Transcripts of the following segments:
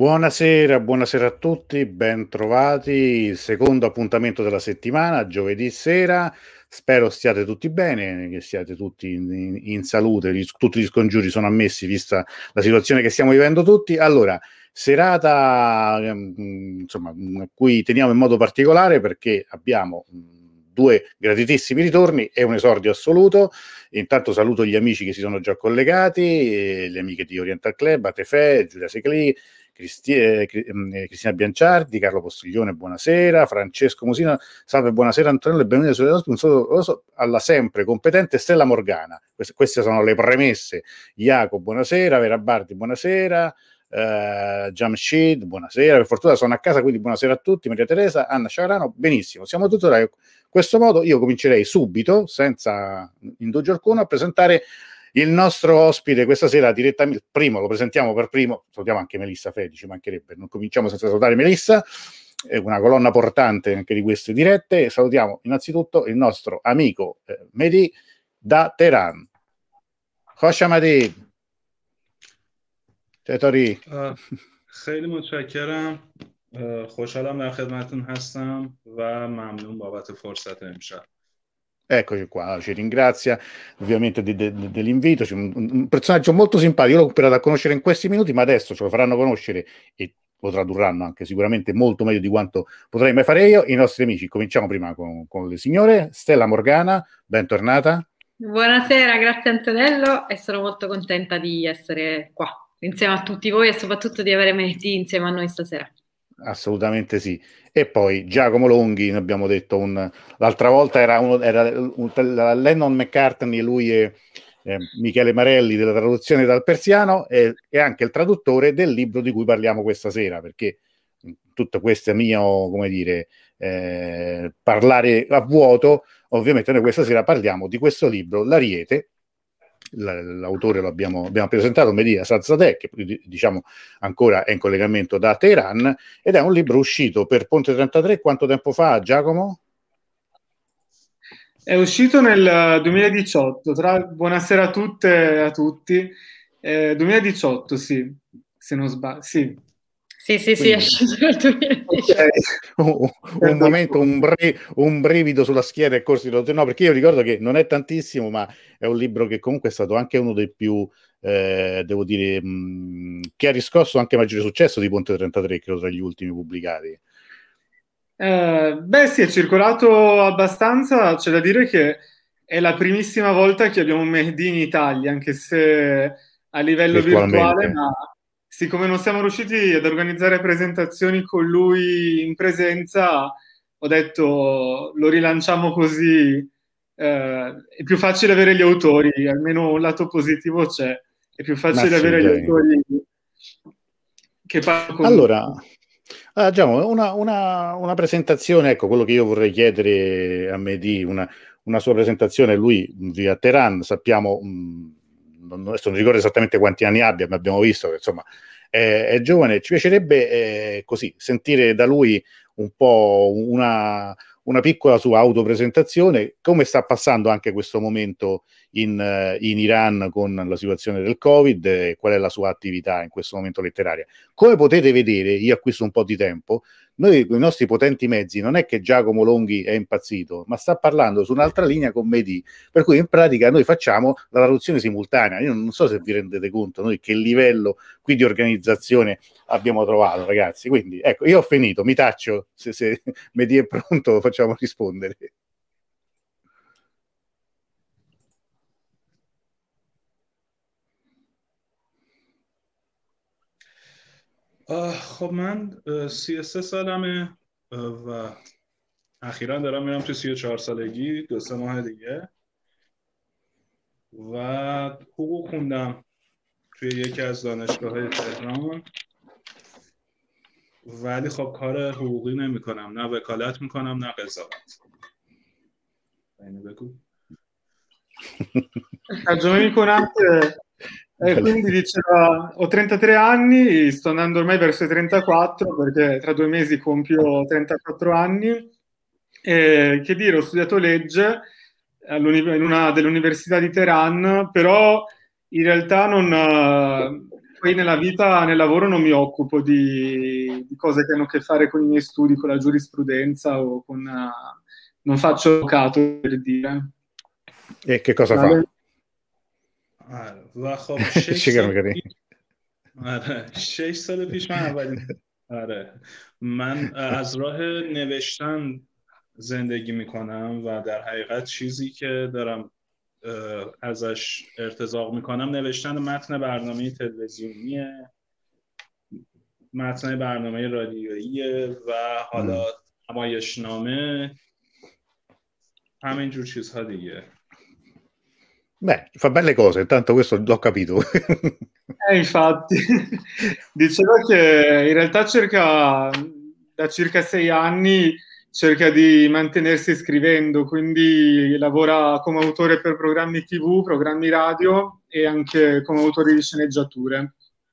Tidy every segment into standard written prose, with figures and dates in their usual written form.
Buonasera, buonasera a tutti, ben trovati. Il secondo appuntamento della settimana, giovedì sera. Spero stiate tutti bene, che siate tutti in salute. Tutti gli scongiuri sono ammessi, vista la situazione che stiamo vivendo tutti. Allora, serata insomma, a cui teniamo in modo particolare perché abbiamo due graditissimi ritorni e un esordio assoluto. Intanto saluto gli amici che si sono già collegati, le amiche di Oriental Club, Atefè, Giulia Secli, Cristina Bianciardi, Carlo Postiglione, buonasera, Francesco Musina, salve, buonasera Antonello e benvenuti un saluto alla sempre competente Stella Morgana. Queste sono le premesse. Jacopo, buonasera, Vera Bardi, buonasera, Jamshid, buonasera, per fortuna sono a casa, quindi buonasera a tutti, Maria Teresa, Anna Sciarano, benissimo, siamo tutti là. In questo modo io comincerei subito, senza indugio alcuno, a presentare il nostro ospite questa sera direttamente. Primo lo presentiamo per primo, salutiamo anche Melissa Fedi, ci mancherebbe, non cominciamo senza salutare Melissa, è una colonna portante anche di queste dirette. Salutiamo innanzitutto il nostro amico Mehdi da Teheran. خوش آمدید. چطوری؟ خیلی متشکرم. خوشحالم در خدمتتون هستم و ممنون بابت فرصت امشب. Eccoci qua, ci ringrazia ovviamente dell'invito. C'è un personaggio molto simpatico, io l'ho imparato a conoscere in questi minuti, ma adesso ce lo faranno conoscere e lo tradurranno anche sicuramente molto meglio di quanto potrei mai fare io. I nostri amici, cominciamo prima con le signore. Stella Morgana, bentornata. Buonasera, grazie Antonello e sono molto contenta di essere qua insieme a tutti voi e soprattutto di avere Mehdi insieme a noi stasera. Assolutamente sì. E poi Giacomo Longhi, ne abbiamo detto l'altra volta era Lennon McCartney, lui e Michele Marelli della traduzione dal persiano e anche il traduttore del libro di cui parliamo questa sera, perché tutto questo è mio, come dire, parlare a vuoto. Ovviamente noi questa sera parliamo di questo libro, L'Ariete. L'autore lo abbiamo presentato, Mehdi Hasan-Zadeh, che diciamo ancora è in collegamento da Teheran, ed è un libro uscito per Ponte 33 quanto tempo fa, Giacomo? È uscito nel 2018, buonasera a tutte e a tutti, 2018 sì, se non sbaglio, sì. Sì, è uscito nel 2018. Okay. Un momento, un brivido sulla schiena e corsi no, perché io ricordo che non è tantissimo, ma è un libro che comunque è stato anche uno dei più, devo dire, che ha riscosso anche maggiore successo di Ponte 33, credo, tra gli ultimi pubblicati. Beh sì, è circolato abbastanza, c'è da dire che è la primissima volta che abbiamo Mehdi in Italia, anche se a livello virtuale, ma siccome non siamo riusciti ad organizzare presentazioni con lui in presenza, ho detto lo rilanciamo così, è più facile avere gli autori, almeno un lato positivo c'è, è più facile avere gli autori che parlano con allora. Diciamo, una presentazione, ecco, quello che io vorrei chiedere a Mehdi, una sua presentazione, lui vive a Teheran, sappiamo, adesso non ricordo esattamente quanti anni abbia, ma abbiamo visto che insomma è giovane, ci piacerebbe così sentire da lui un po' una piccola sua autopresentazione, come sta passando anche questo momento in Iran con la situazione del Covid, e qual è la sua attività in questo momento letteraria. Come potete vedere, io acquisto un po' di tempo, noi con i nostri potenti mezzi non è che Giacomo Longhi è impazzito, ma sta parlando su un'altra linea con Mehdi, per cui in pratica noi facciamo la traduzione simultanea. Io non so se vi rendete conto noi che livello qui di organizzazione abbiamo trovato, ragazzi. Quindi ecco, io ho finito, mi taccio, se Mehdi è pronto facciamo rispondere. خب من 33 سالمه و اخیرا دارم میرم تو 34 سالگی، 2-3 ماه دیگه، و حقوق خوندم توی یکی از دانشگاه‌های تهران، ولی خب کار حقوقی نمی کنم، نه وکالت میکنم نه قضاوت. اینو بگو. Ragione میکنم که quindi diceva, ho 33 anni, sto andando ormai verso i 34 perché tra 2 mesi compio 34 anni. Che dire, ho studiato legge in una delle università di Teheran, però in realtà non poi nella vita, nel lavoro non mi occupo di cose che hanno a che fare con i miei studi, con la giurisprudenza o con... non faccio avvocato, per dire. E che cosa fa? و خب 6 سال پیش من اولین من از راه نوشتن زندگی میکنم و در حقیقت چیزی که دارم ازش ارتزاق میکنم نوشتن متن برنامه تلویزیونیه، متن برنامه رادیوییه و حالا نمایشنامه، همین جور چیزها دیگه. Beh, fa belle cose, intanto questo l'ho capito. Infatti, diceva che in realtà da circa 6 anni cerca di mantenersi scrivendo, quindi lavora come autore per programmi TV, programmi radio e anche come autore di sceneggiature.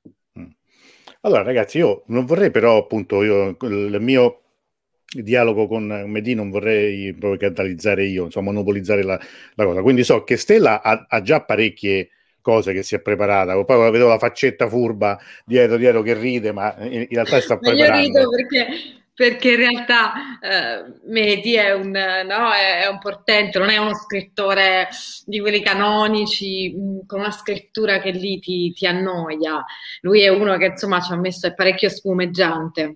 Allora ragazzi, io non vorrei però appunto il mio dialogo con Mehdi non vorrei proprio catalizzare io, insomma monopolizzare la cosa, quindi so che Stella ha già parecchie cose che si è preparata, poi vedo la faccetta furba dietro che ride, ma in realtà sta preparando. Io rido perché in realtà Mehdi è un portento, non è uno scrittore di quelli canonici con una scrittura che lì ti annoia. Lui è uno che insomma ci ha messo, è parecchio spumeggiante.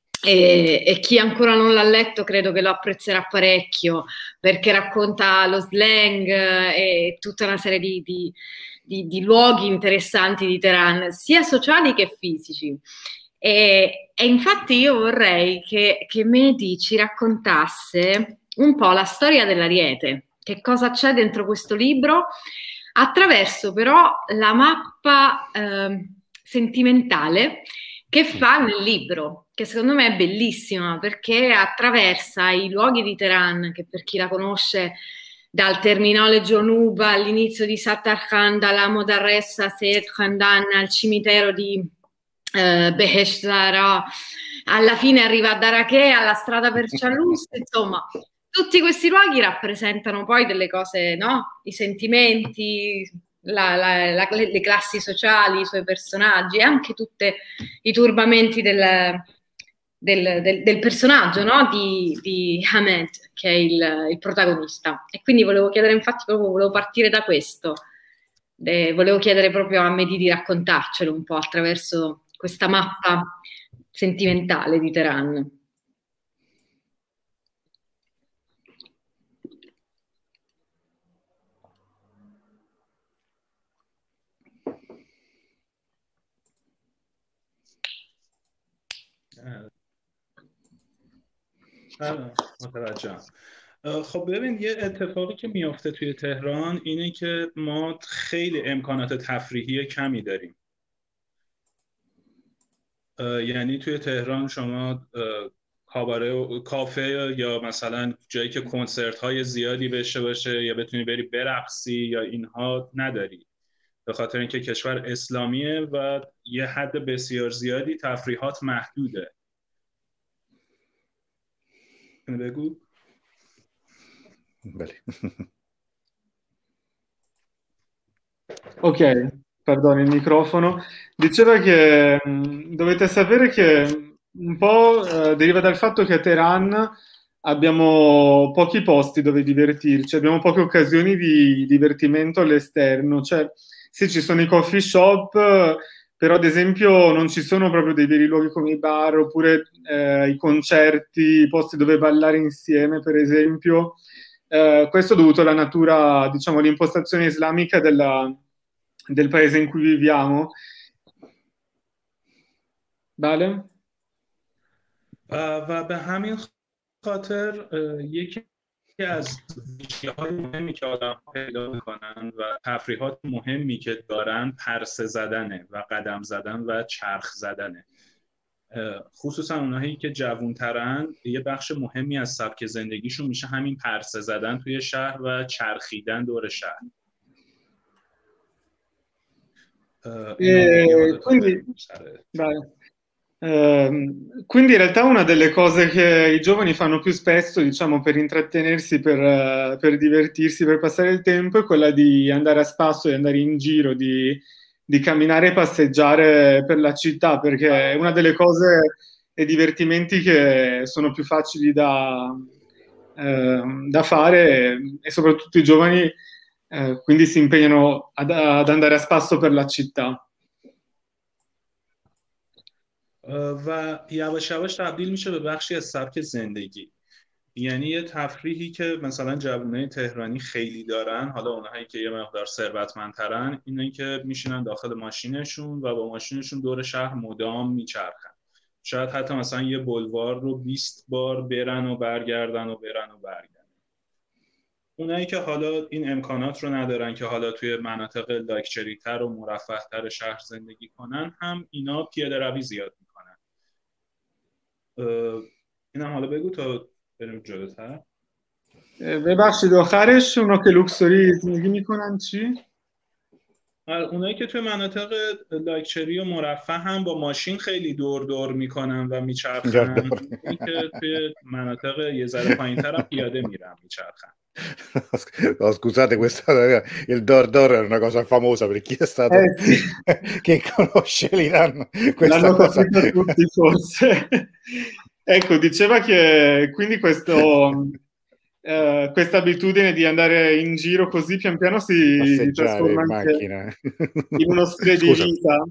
E chi ancora non l'ha letto credo che lo apprezzerà parecchio, perché racconta lo slang e tutta una serie di luoghi interessanti di Teheran, sia sociali che fisici. E infatti io vorrei che Mehdi ci raccontasse un po' la storia dell'Ariete, che cosa c'è dentro questo libro, attraverso però la mappa sentimentale che fa nel libro, che secondo me è bellissima perché attraversa i luoghi di Teheran, che per chi la conosce dal terminale Jonuba all'inizio di Sattar Khan, dalla Modarressa Seyed Khandan al cimitero di Behesht Zahra, alla fine arriva a Darakeh, alla strada per Cialus, insomma tutti questi luoghi rappresentano poi delle cose, no? I sentimenti, le classi sociali, i suoi personaggi e anche tutti i turbamenti del personaggio, no? di Hamed, che è il protagonista. E quindi volevo chiedere, infatti proprio volevo partire da questo, volevo chiedere proprio a Mehdi di raccontarcelo un po' attraverso questa mappa sentimentale di Teheran. متوجهم. خب ببین یه اتفاقی که میافته توی تهران اینه که ما خیلی امکانات تفریحی کمی داریم. یعنی توی تهران شما کاباره کافه یا مثلا جایی که کنسرت های زیادی بشه باشه یا بتونی بری برقصی یا اینها نداری، به خاطر اینکه کشور اسلامیه و یه حد بسیار زیادی تفریحات محدوده. بگو. Ok, perdono il microfono. Diceva che dovete sapere che un po' deriva dal fatto che a Teheran abbiamo pochi posti dove divertirci, abbiamo poche occasioni di divertimento all'esterno. Cioè, sì, ci sono i coffee shop, però ad esempio non ci sono proprio dei veri luoghi come i bar oppure i concerti, i posti dove ballare insieme, per esempio. Questo è dovuto alla natura, diciamo, all'impostazione islamica del paese in cui viviamo. بله؟ و به همین خاطر یکی از ویژگی‌های مهمی که آدم‌ها پیدا می‌کنن و تفریحات مهمی که دارن پرسه زدنه و قدم زدن و چرخ زدنه. خصوصا اونایی که جوان‌ترن یه بخش مهمی از سبک زندگیشون میشه همین پرسه زدن توی شهر و چرخیدن دور شهر. Quindi in realtà una delle cose che i giovani fanno più spesso, diciamo, per intrattenersi, per divertirsi, per passare il tempo, è quella di andare a spasso, di andare in giro, di di camminare e passeggiare per la città, perché è una delle cose e divertimenti che sono più facili da fare, e soprattutto i giovani quindi si impegnano ad andare a spasso per la città. و یواش یواش تبدیل میشه به بخشی از سبک زندگی. یعنی یه تفریحی که مثلا جوانای تهرانی خیلی دارن، حالا اونهایی که یه مقدار ثروتمندترن، اینه که میشینن داخل ماشینشون و با ماشینشون دور شهر مدام میچرخن. شاید حتی مثلا یه بلوار رو 20 بار برن و برگردن و برن و برگردن. اونایی که حالا این امکانات رو ندارن که حالا توی مناطق لاکچری تر و مرفه تر شهر زندگی کنن، هم اینا پیاده روی زیاد میکنن. اینم حالا بگو تا بریم جلوتر. ببخشید آخرش اونا که لوکسوری زندگی میکنن چی؟ اونایی که توی مناطق لاکچری و مرفه هم با ماشین خیلی دور میکنن و میچرخن. اونایی که توی مناطق یه ذره پایین‌تر هم پیاده میرن میچرخن. No, scusate, il Dor è una cosa famosa per chi è stato sì. che conosce l'Iran. L'hanno capito tutti forse. Ecco, diceva che quindi questa abitudine di andare in giro così pian piano si trasforma in anche macchina in uno stile di vita,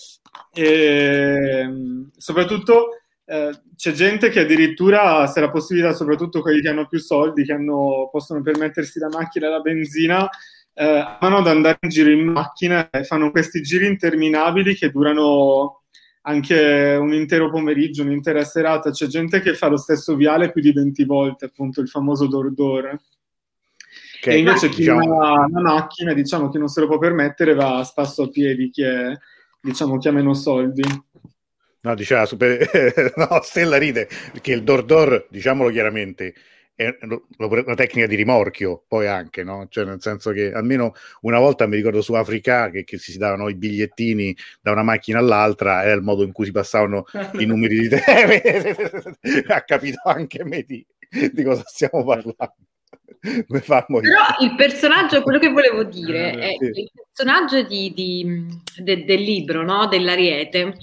e soprattutto c'è gente che addirittura, se la possibilità, soprattutto quelli che hanno più soldi, che possono permettersi la macchina e la benzina, amano ad andare in giro in macchina e fanno questi giri interminabili che durano anche un intero pomeriggio, un'intera serata. C'è gente che fa lo stesso viale più di 20 volte, appunto il famoso Dor. E invece chi ha una macchina, diciamo, che non se lo può permettere, va a spasso a piedi, chi ha meno soldi. No, diceva no, Stella ride, perché il Dor, diciamolo chiaramente, è una tecnica di rimorchio, poi anche, no? Cioè, nel senso che almeno una volta mi ricordo su Africa che si davano i bigliettini da una macchina all'altra, era il modo in cui si passavano i numeri di telefono. Ha capito anche me di cosa stiamo parlando. Però il personaggio, quello che volevo dire è che il personaggio del libro, no? Dell'Ariete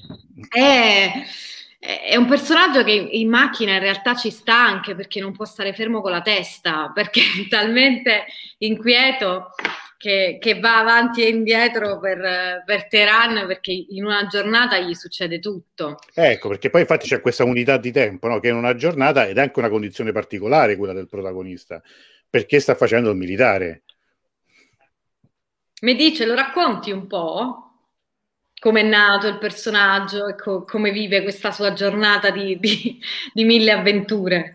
è un personaggio che in macchina in realtà ci sta, anche perché non può stare fermo con la testa, perché è talmente inquieto che va avanti e indietro per Teheran, perché in una giornata gli succede tutto. Ecco, perché poi infatti c'è questa unità di tempo, no? Che è una giornata, ed è anche una condizione particolare quella del protagonista, perché sta facendo il militare. Mi dice, lo racconti un po'? Come è nato il personaggio e come vive questa sua giornata di 1000 avventure?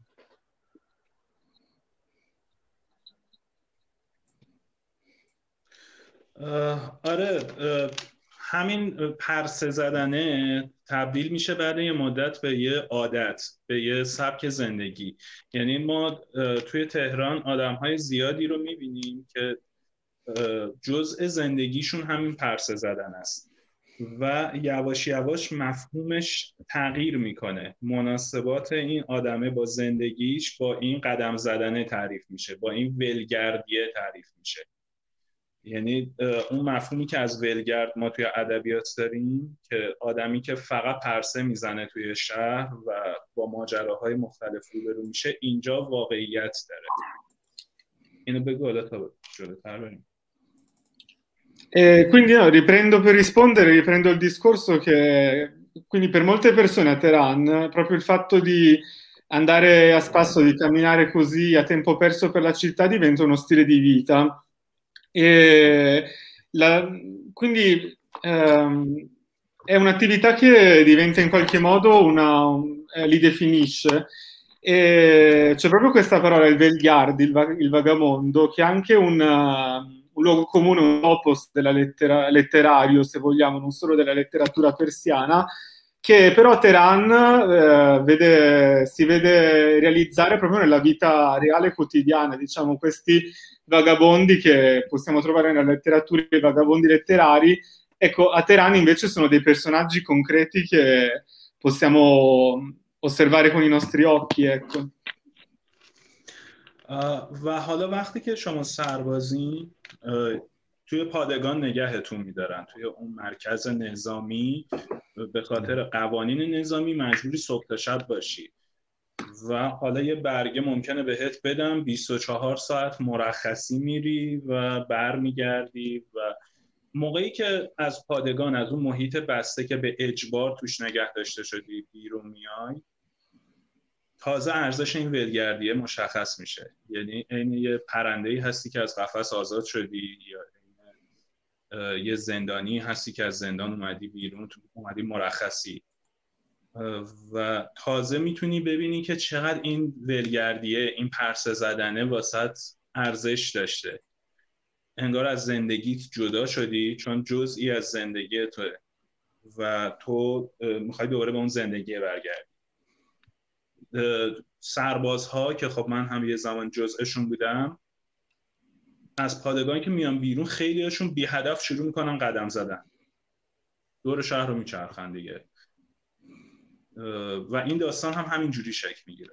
آره، همین پرسه زدنه تبدیل میشه بعد یه مدت به یه عادت، به یه سبک زندگی. یعنی ما توی تهران آدم‌های زیادی رو میبینیم که جزء زندگیشون همین پرسه زدن است و یواش یواش مفهومش تغییر میکنه. مناسبات این آدمه با زندگیش با این قدم زدنه تعریف میشه، با این ولگردیه تعریف میشه. یعنی اون مفهومی که از ولگرد ما توی ادبیات داریم که آدمی که فقط پرسه میزنه توی شهر و با ماجراهای مختلف روبرو میشه، اینجا واقعیت داره. اینو بگو حالا تا جلوتر بریم. Quindi riprendo il discorso che quindi per molte persone a Teheran proprio il fatto di andare a spasso, di camminare così a tempo perso per la città diventa uno stile di vita. E quindi è un'attività che diventa in qualche modo li definisce. E c'è proprio questa parola, il Velgard, il vagamondo, che è anche un luogo comune, un opus letterario, se vogliamo, non solo della letteratura persiana, che però a Teheran si vede realizzare proprio nella vita reale quotidiana, diciamo, questi vagabondi che possiamo trovare nella letteratura, i vagabondi letterari. Ecco, a Teheran invece sono dei personaggi concreti che possiamo osservare con i nostri occhi, ecco. و حالا وقتی که شما سربازین، توی پادگان نگهتون میدارن، توی اون مرکز نظامی به خاطر قوانین نظامی مجبوری صبح تا شب باشی و حالا یه برگه ممکنه بهت بدم 24 ساعت مرخصی میری و برمیگردی و موقعی که از پادگان، از اون محیط بسته که به اجبار توش نگه داشته شدی بیرون میای، تازه ارزش این ولگردیه مشخص میشه. یعنی این یه پرنده‌ای هستی که از قفس آزاد شدی یا یه زندانی هستی که از زندان اومدی بیرون، تو اومدی مرخصی و تازه میتونی ببینی که چقدر این ولگردیه، این پرسه زدنه واسط ارزش داشته. انگار از زندگیت جدا شدی چون جزئی از زندگی توه و تو میخوای دوباره به اون زندگی برگردی. سربازها که خب من هم یه زمان جزءشون بودم، از پادگانی که میان بیرون خیلیشون بی هدف شروع میکنن قدم زدن، دور شهر رو میچرخن دیگه و این داستان هم همینجوری شکل میگیره.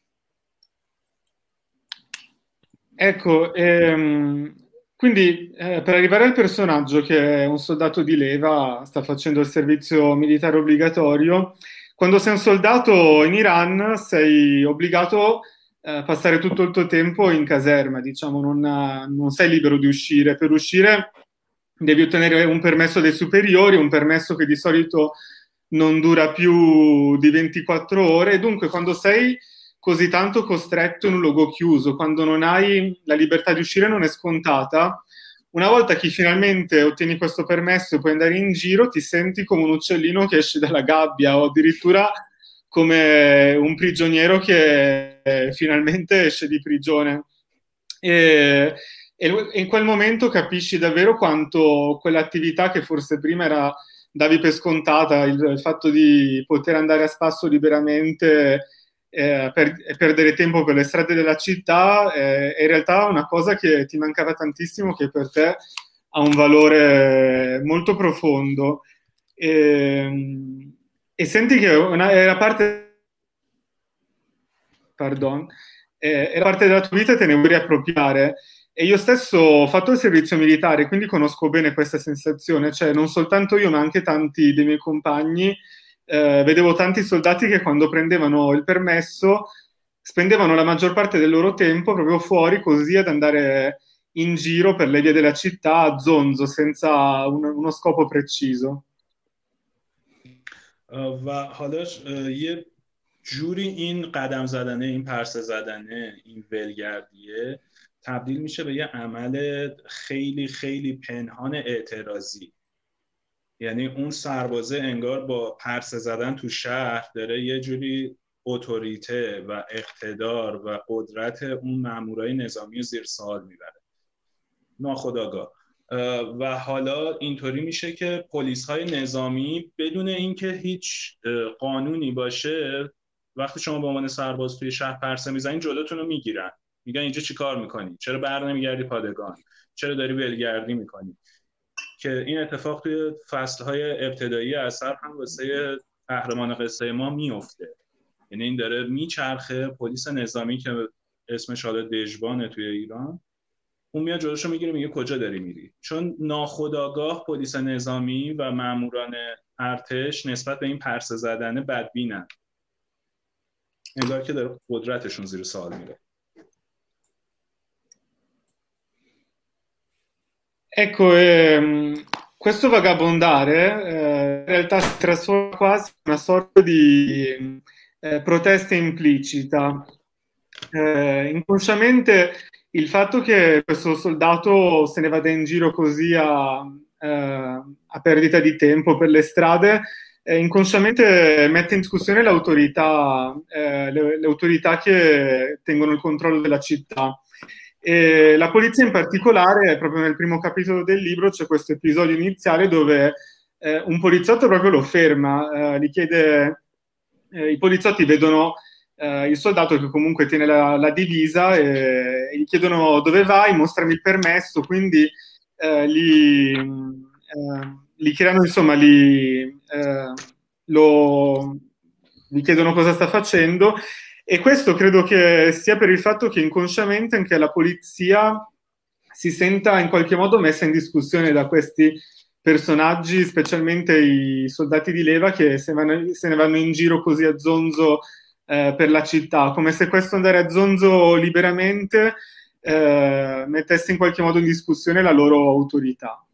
Ecco, quindi per arrivare al personaggio che è un soldato di leva, sta facendo il servizio militare obbligatorio, quando sei un soldato in Iran sei obbligato a passare tutto il tuo tempo in caserma, diciamo, non sei libero di uscire. Per uscire devi ottenere un permesso dei superiori, un permesso che di solito non dura più di 24 ore, e dunque quando sei così tanto costretto in un luogo chiuso, quando non hai la libertà di uscire, non è scontata. Una volta che finalmente ottieni questo permesso e puoi andare in giro, ti senti come un uccellino che esce dalla gabbia o addirittura come un prigioniero che finalmente esce di prigione. E in quel momento capisci davvero quanto quell'attività che forse prima davi per scontata, il fatto di poter andare a spasso liberamente perdere tempo per le strade della città è in realtà una cosa che ti mancava tantissimo, che per te ha un valore molto profondo e senti che era parte della tua vita e te ne vuoi riappropriare. E io stesso ho fatto il servizio militare, quindi conosco bene questa sensazione, cioè non soltanto io ma anche tanti dei miei compagni. Vedevo tanti soldati che quando prendevano il permesso spendevano la maggior parte del loro tempo proprio fuori, così ad andare in giro per le vie della città a zonzo, senza uno scopo preciso. و حالاش یه جوری این قدم زدنه، این پرسه زدنه، این ولگردیه تبدیل میشه به یه عمل خیلی خیلی پنهان اعتراضی. یعنی اون سربازه انگار با پرسه زدن تو شهر داره یه جوری اتوریته و اقتدار و قدرت اون مامورای نظامی رو زیر سوال میبره ناخودآگاه. و حالا اینطوری میشه که پلیس‌های نظامی بدون اینکه هیچ قانونی باشه، وقتی شما به عنوان سرباز توی شهر پرسه میزنین جلوتون رو میگیرن، میگن اینجا چی کار میکنی؟ چرا بر نمیگردی پادگان؟ چرا داری ولگردی میکنی؟ که این اتفاق توی فصلهای ابتدایی اثر هم واسه قهرمان قصه ما میفته. یعنی این داره میچرخه، پلیس نظامی که اسمش حالا دژبانه توی ایران، اون میاد جلوشو میگیره، میگه کجا داری میری؟ چون ناخودآگاه پلیس نظامی و ماموران ارتش نسبت به این پرسه زدن بدبینن، انگار که داره قدرتشون زیر سوال میره. Ecco, questo vagabondare in realtà si trasforma quasi in una sorta di protesta implicita. Inconsciamente il fatto che questo soldato se ne vada in giro così a perdita di tempo per le strade, inconsciamente mette in discussione le autorità che tengono il controllo della città. E la polizia in particolare, proprio nel primo capitolo del libro c'è questo episodio iniziale dove un poliziotto proprio lo ferma, gli chiede, i poliziotti vedono il soldato che comunque tiene la divisa e gli chiedono dove vai, mostrami il permesso, quindi gli chiedono, insomma, gli chiedono cosa sta facendo. E questo credo che sia per il fatto che inconsciamente anche la polizia si senta in qualche modo messa in discussione da questi personaggi, specialmente i soldati di leva che se ne vanno in giro così a zonzo per la città, come se questo andare a zonzo liberamente mettesse in qualche modo in discussione la loro autorità.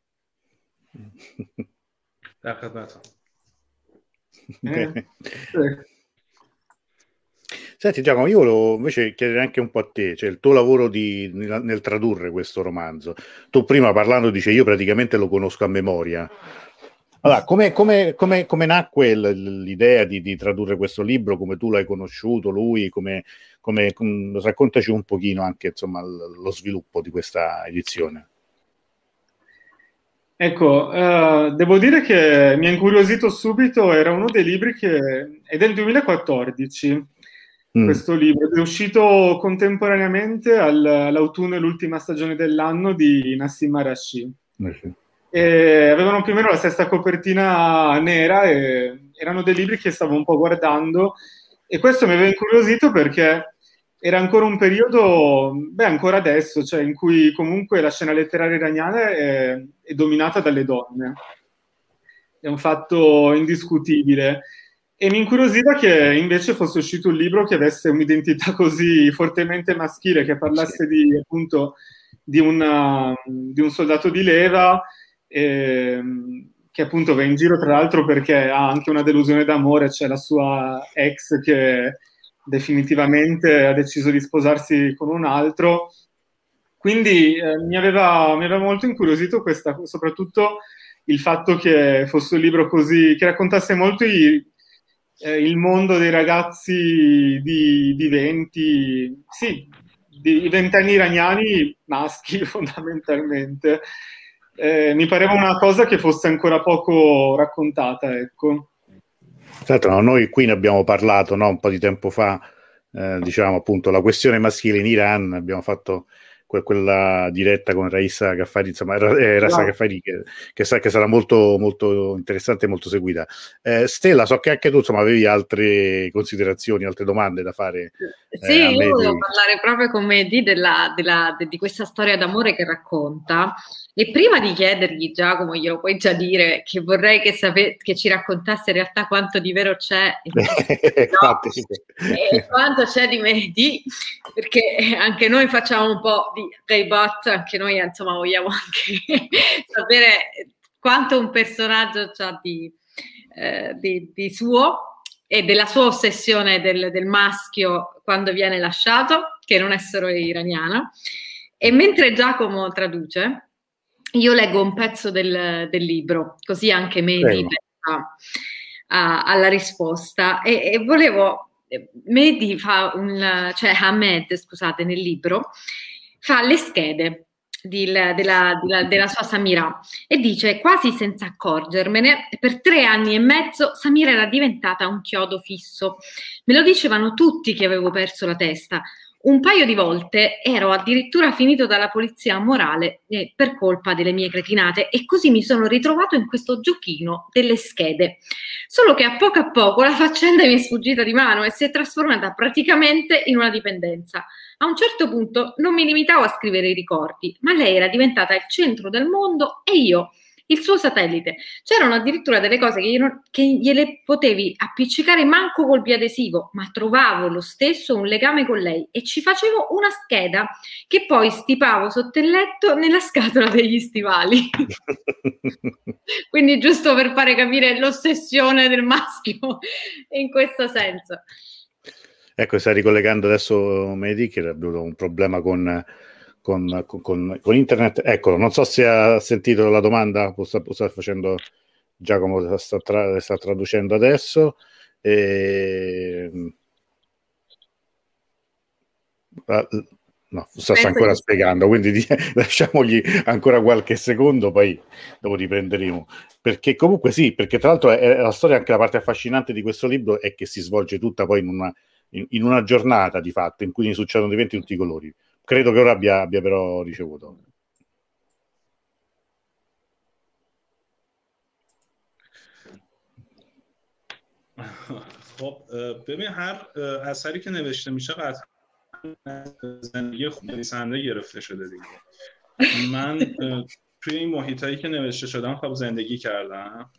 Senti Giacomo, io volevo invece chiedere anche un po' a te, cioè il tuo lavoro nel tradurre questo romanzo. Tu prima parlando dice io praticamente lo conosco a memoria. Allora, come nacque l'idea di tradurre questo libro, come tu l'hai conosciuto, lui, raccontaci un pochino anche insomma lo sviluppo di questa edizione. Ecco, devo dire che mi ha incuriosito subito, era uno dei libri è del 2014, questo libro, è uscito contemporaneamente all'autunno e l'ultima stagione dell'anno di Nassim Arashi. E avevano più o meno la stessa copertina nera e erano dei libri che stavo un po' guardando e questo mi aveva incuriosito perché era ancora un periodo, ancora adesso, cioè in cui comunque la scena letteraria iraniana è dominata dalle donne. È un fatto indiscutibile. E mi incuriosiva che invece fosse uscito un libro che avesse un'identità così fortemente maschile, che parlasse appunto di un soldato di leva, che appunto va in giro tra l'altro perché ha anche una delusione d'amore, c'è la sua ex che definitivamente ha deciso di sposarsi con un altro. Quindi mi aveva molto incuriosito soprattutto il fatto che fosse un libro così, che raccontasse molto il mondo dei ragazzi di 20, sì, di 20 anni iraniani maschi fondamentalmente. Mi pareva una cosa che fosse ancora poco raccontata, ecco. Tra l'altro, noi qui ne abbiamo parlato, no, un po' di tempo fa, diciamo appunto la questione maschile in Iran, abbiamo fatto quella diretta con Raissa Ghaffari, insomma Raissa Ghaffari che sarà molto, molto interessante e molto seguita. Stella, so che anche tu insomma avevi altre considerazioni, altre domande da fare. Sì, io volevo parlare proprio con Mehdi di questa storia d'amore che racconta. E prima di chiedergli, Giacomo, glielo puoi già dire, che vorrei che ci raccontasse in realtà quanto di vero c'è e quanto c'è di Mehdi, perché anche noi facciamo un po' di Ghaibat, anche noi insomma vogliamo anche sapere quanto un personaggio c'ha di suo e della sua ossessione del maschio quando viene lasciato, che non è solo iraniana. E mentre Giacomo traduce, io leggo un pezzo del libro, così anche Mehdi pensa alla risposta. E volevo, Mehdi cioè Ahmed, scusate, nel libro, fa le schede della sua Samira e dice: quasi senza accorgermene, per 3 anni e mezzo Samira era diventata un chiodo fisso. Me lo dicevano tutti che avevo perso la testa. Un paio di volte ero addirittura finito dalla polizia morale per colpa delle mie cretinate e così mi sono ritrovato in questo giochino delle schede. Solo che a poco la faccenda mi è sfuggita di mano e si è trasformata praticamente in una dipendenza. A un certo punto non mi limitavo a scrivere i ricordi, ma lei era diventata il centro del mondo e io il suo satellite. C'erano addirittura delle cose che gliele potevi appiccicare manco col biadesivo, ma trovavo lo stesso un legame con lei e ci facevo una scheda che poi stipavo sotto il letto nella scatola degli stivali. Quindi giusto per fare capire l'ossessione del maschio in questo senso. Ecco, sta ricollegando adesso Mehdi che ha avuto un problema con internet. Eccolo, non so se ha sentito la domanda, sta facendo Giacomo, sta traducendo adesso. No, sta ancora spiegando, quindi lasciamogli ancora qualche secondo, poi dopo riprenderemo. Perché comunque sì, perché tra l'altro è la storia, anche la parte affascinante di questo libro è che si svolge tutta poi in una giornata di fatto in cui ne succedono eventi di tutti i colori. Credo che ora abbia però ricevuto. خب ببین هر اثری که نوشته میشه قطعا زندگی نویسنده گرفته شده دیگه من توی این محیطایی که نوشته شدم خب زندگی کردم.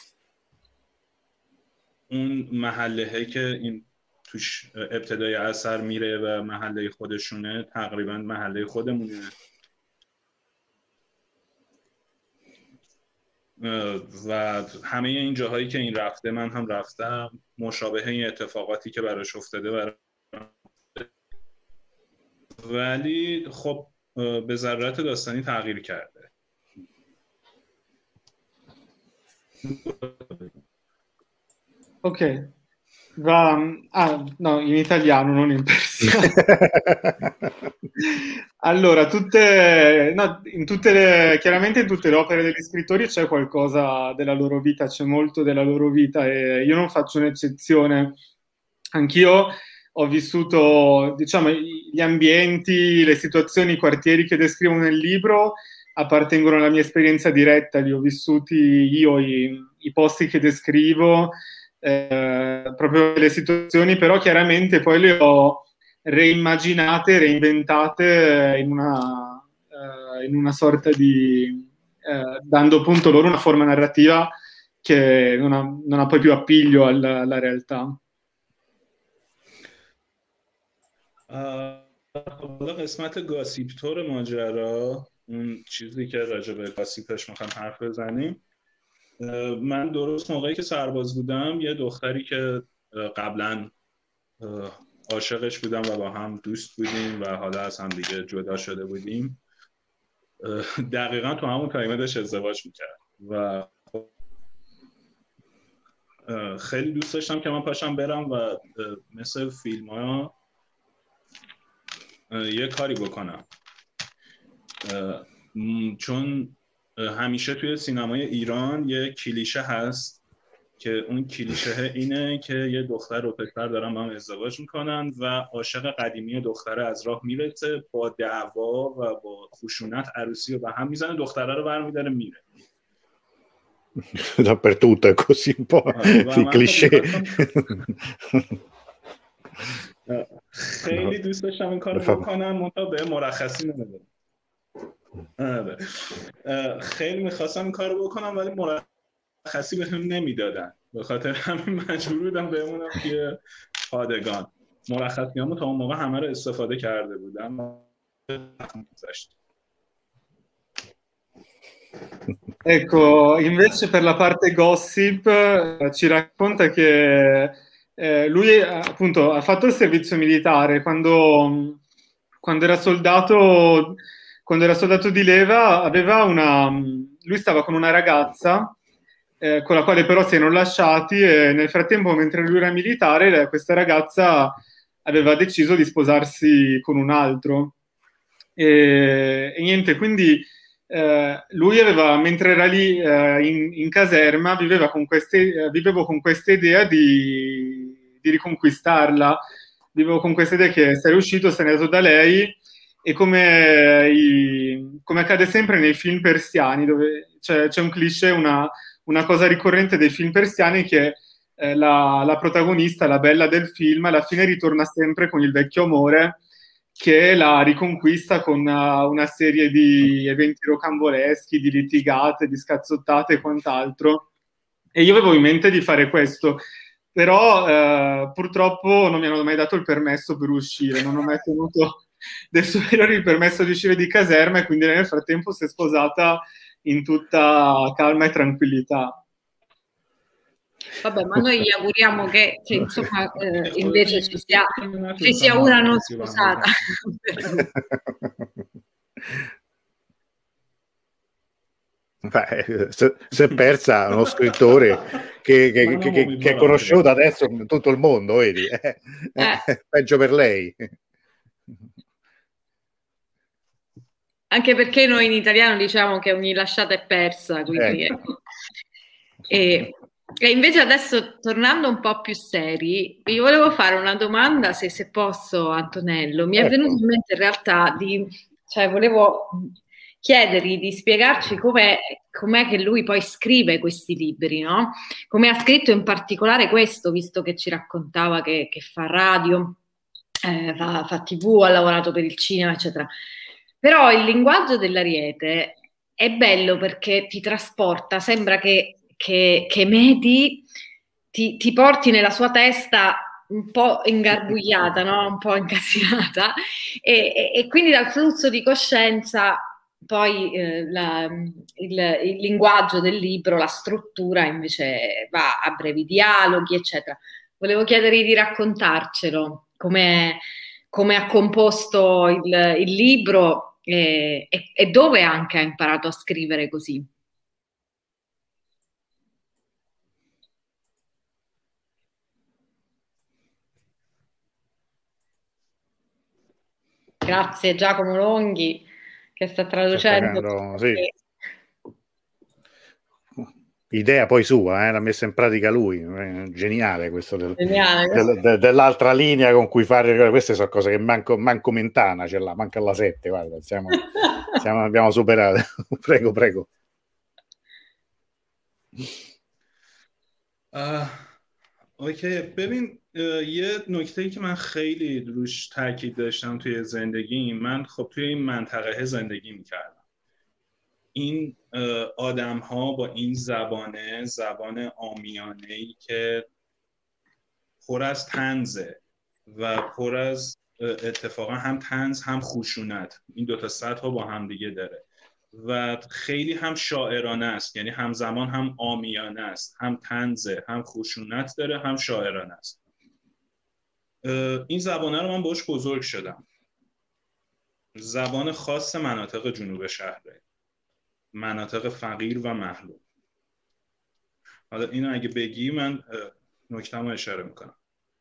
اون محله‌ای که این توش ابتدای اثر میره و محله خودشونه تقریبا محله خودمونه و همه این جاهایی که این رفته من هم رفتم، مشابه این اتفاقاتی که براش افتاده ولی خب به ضرورت داستانی تغییر کرده. Ok, no, in italiano, non in persiano. Allora, chiaramente in tutte le opere degli scrittori c'è qualcosa della loro vita, c'è molto della loro vita e io non faccio un'eccezione. Anch'io ho vissuto, diciamo, gli ambienti, le situazioni, i quartieri che descrivo nel libro appartengono alla mia esperienza diretta, li ho vissuti io, i posti che descrivo, proprio le situazioni, però chiaramente poi le ho reimmaginate, reinventate in una sorta di dando appunto loro una forma narrativa che non ha poi più appiglio alla realtà. حالا قسمت گاسیپتور ماجرا، اون چیزی که راجع به گاسیپش میخوام حرف بزنیم، من درست موقعی که سرباز بودم یه دختری که قبلا عاشقش بودم و با هم دوست بودیم و حالا از هم دیگه جدا شده بودیم، دقیقا تو همون تایمه داشت ازدواج میکرد و خیلی دوست داشتم که من پاشم برم و مثل فیلم ها یه کاری بکنم، چون همیشه توی سینمای ایران یه کلیشه هست که اون کلیشه اینه که یه دختر و پسر دارن با هم ازدواج میکنن و عاشق قدیمی دختره از راه میرسه، با دعوا و با خشونت عروسی رو به هم میزنه، دختره رو برمیداره میره. Dappertutto è così un po' il cliché. خیلی دوست داشتم این کارو بکنم، منتها به مرخصی نمیدادن. خیلی میخواستم این کارو بکنم ولی مرخصی بهم نمیدادن، به خاطر همین مجبور بودم بمونم توی پادگان. مرخصیامو تا اون موقع همه رو استفاده کرده بودم. Ecco, invece per la parte gossip ci racconta che lui appunto ha fatto il servizio militare quando era soldato di leva, lui stava con una ragazza con la quale però si erano lasciati e nel frattempo mentre lui era militare questa ragazza aveva deciso di sposarsi con un altro e niente, quindi lui mentre era lì in caserma vivevo con questa idea di riconquistarla, vivevo con questa idea che se n'è uscito, se n'è andato da lei e come accade sempre nei film persiani dove c'è un cliché, una cosa ricorrente dei film persiani che la protagonista, la bella del film, alla fine ritorna sempre con il vecchio amore che la riconquista con una serie di eventi rocamboleschi, di litigate, di scazzottate e quant'altro. E io avevo in mente di fare questo, però purtroppo non mi hanno mai dato il permesso per uscire, non ho mai tenuto dei superiori il permesso di uscire di caserma e quindi nel frattempo si è sposata in tutta calma e tranquillità. Vabbè, ma noi gli auguriamo che insomma invece ci sia una non sposata. Beh, si è persa uno scrittore che è conosciuto adesso in tutto il mondo, vedi? Peggio per lei. Anche perché noi in italiano diciamo che ogni lasciata è persa, quindi E invece adesso, tornando un po' più seri, vi volevo fare una domanda, se posso, Antonello. Mi è venuto in mente in realtà volevo chiedergli di spiegarci com'è che lui poi scrive questi libri, no? Come ha scritto in particolare questo, visto che ci raccontava che fa radio, fa TV, ha lavorato per il cinema, eccetera. Però il linguaggio dell'Ariete è bello perché ti trasporta, sembra che Mehdi ti porti nella sua testa un po' ingarbugliata, no? Un po' incasinata, e quindi dal flusso di coscienza poi il linguaggio del libro, la struttura invece va a brevi dialoghi, eccetera. Volevo chiedergli di raccontarcelo, come ha composto il libro e dove anche ha imparato a scrivere così. Grazie Giacomo Longhi che sta traducendo. Sì. Idea poi sua, l'ha messa in pratica lui, geniale questo dell'altra linea con cui fare, queste sono cose che manco Mentana ce l'ha, manca alla 7, guarda, abbiamo superato. Prego. اوکی ببین یه نکته‌ای که من خیلی روش تاکید داشتم توی زندگیم، من خب توی این منطقه زندگی میکردم. این آدم ها با این زبان عامیانه‌ای که پر از طنزه و پر از اتفاقا هم طنز هم خشونت، این دوتا سطح ها با هم دیگه داره و خیلی هم شاعرانه است، یعنی همزمان هم عامیانه است، هم طنزه، هم خشونت داره، هم شاعرانه است. این زبانه رو من باش بزرگ شدم. زبان خاص مناطق جنوب شهره، مناطق فقیر و محروم. حالا اینو اگه بگی من نکته‌مو اشاره میکنم.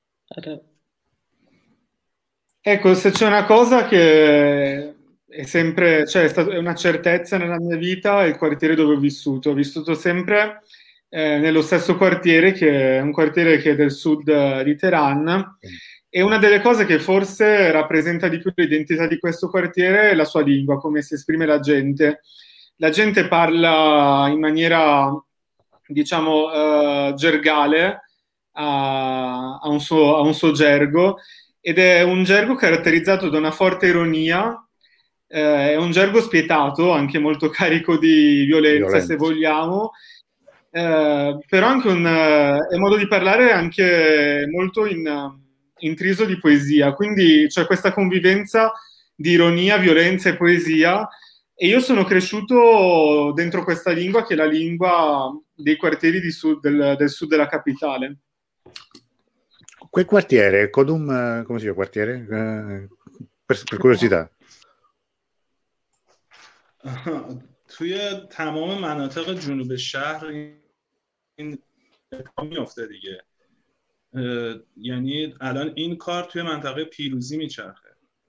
Ecco, se c'è una cosa che è sempre, cioè è una certezza nella mia vita, è il quartiere dove ho vissuto. Ho vissuto sempre nello stesso quartiere, che è un quartiere che è del sud di Teheran, e una delle cose che forse rappresenta di più l'identità di questo quartiere è la sua lingua, come si esprime la gente. La gente parla in maniera, diciamo, gergale, a un suo gergo, ed è un gergo caratterizzato da una forte ironia, è un gergo spietato, anche molto carico di violenza. Se vogliamo, però anche è un modo di parlare anche molto intriso di poesia, quindi c'è questa convivenza di ironia, violenza e poesia, e io sono cresciuto dentro questa lingua che è la lingua dei quartieri del sud della capitale. Quel quartiere, Kodum, come si chiama quartiere? Per curiosità. توی تمام مناطق جنوب شهر این میفته دیگه. یعنی الان این کار توی منطقه پیروزی میچرخه.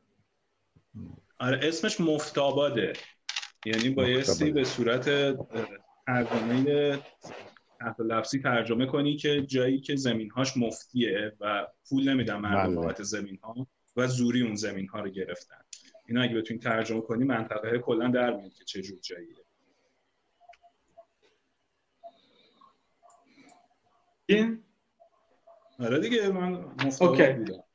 آره اسمش مفتاباده، یعنی بایستی به صورت ترجمه تحت لفظی ترجمه کنی که جایی که زمینهاش مفتیه و پول نمیدن مردم بابت زمینها و زوری اون زمینها رو گرفتن. اینا اگه بتونی ترجمه کنی منطقه کلا در میاد که چه جور جاییه. آره دیگه من مفتاباد بودم.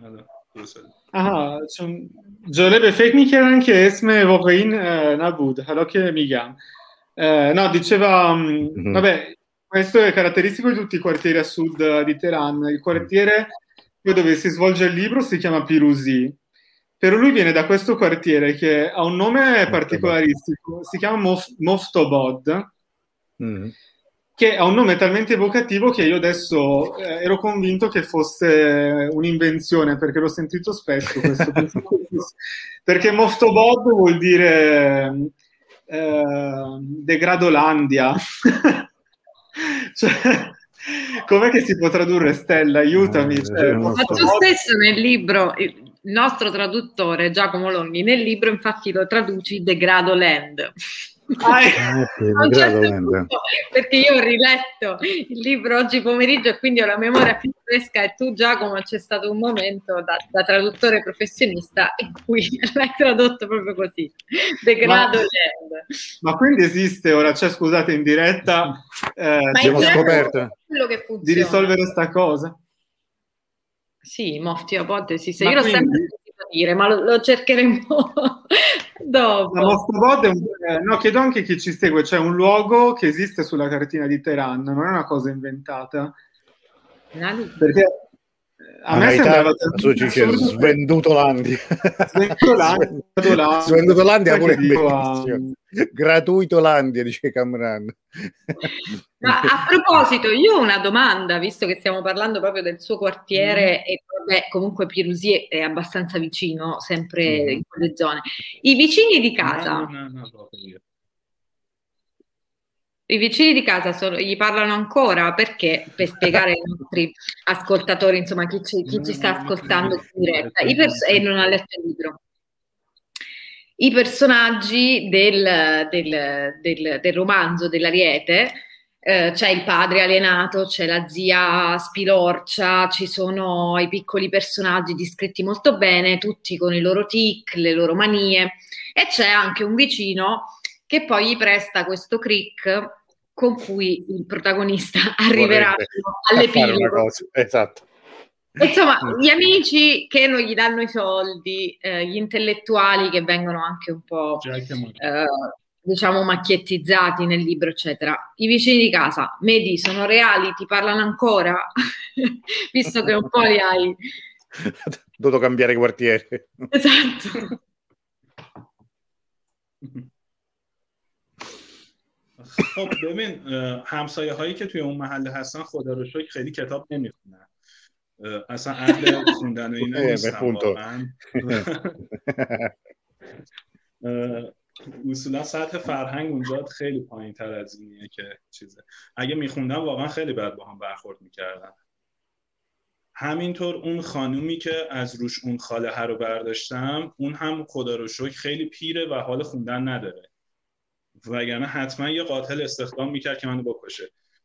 آها چون جالبه فکر میکردن که اسم واقعی نبود، حالا که میگم. No, diceva, vabbè, questo è caratteristico di tutti i quartieri a sud di Teheran. Il quartiere dove si svolge il libro si chiama Piruzi, però lui viene da questo quartiere che ha un nome particolaristico, si chiama Moftobod, che ha un nome talmente evocativo che io adesso ero convinto che fosse un'invenzione, perché l'ho sentito spesso questo perché Moftobod vuol dire degradolandia. Cioè, com'è che si può tradurre, Stella? Aiutami. Ma tu stesso nel libro, il nostro traduttore Giacomo Longhi, nel libro infatti lo traduci Degradoland. Perché io ho riletto il libro oggi pomeriggio e quindi ho la memoria più fresca, e tu Giacomo c'è stato un momento da traduttore professionista in cui l'hai tradotto proprio così, Degradoland. Ma quindi esiste ora, cioè scusate, in diretta abbiamo scoperto di risolvere sta cosa? Sì, Moftobod esiste, io l'ho sempre sentito dire, ma lo cercheremo Dopo. La Mosca Bod no, chiedo anche chi ci segue, c'è un luogo che esiste sulla cartina di Teheran, non è una cosa inventata. Perché a me sembrava Svendutolandia. Svendutolandia pure bellissimo. Gratuitolandia, dice Camran. Ma a proposito, io ho una domanda, visto che stiamo parlando proprio del suo quartiere e vabbè, comunque Pirusì è abbastanza vicino, sempre in quelle zone. I vicini di casa... I vicini di casa gli parlano ancora? Perché? Per spiegare ai nostri ascoltatori, insomma, chi ci sta ascoltando in diretta, e non ha letto il libro. I personaggi del romanzo dell'Ariete, c'è il padre alienato, c'è la zia spilorcia, ci sono i piccoli personaggi descritti molto bene, tutti con i loro tic, le loro manie, e c'è anche un vicino che poi gli presta questo crick con cui il protagonista arriverà all'epilogo. Esatto. Insomma, gli amici che non gli danno i soldi, gli intellettuali che vengono anche un po' diciamo macchiettizzati nel libro, eccetera. I vicini di casa, Mehdi, sono reali? Ti parlano ancora? Visto che un po' li hai... Dovuto cambiare quartiere. Esatto. خب ببین همسایه هایی که توی اون محله هستن خدا رو شکر خیلی کتاب نمیخونن، اصلا اهل خوندن و اینا نیستن واقعا. اصولا سطح فرهنگ اونجا خیلی پایین تر از اینیه که چیزه. اگه میخوندن واقعا خیلی بد با هم برخورد میکردن. همینطور اون خانومی که از روش اون خاله رو برداشتم، اون هم خدا رو شکر خیلی پیره و حال خوندن نداره، وگرنه حتما یه قاتل استخدام میکرد که منو بکشه.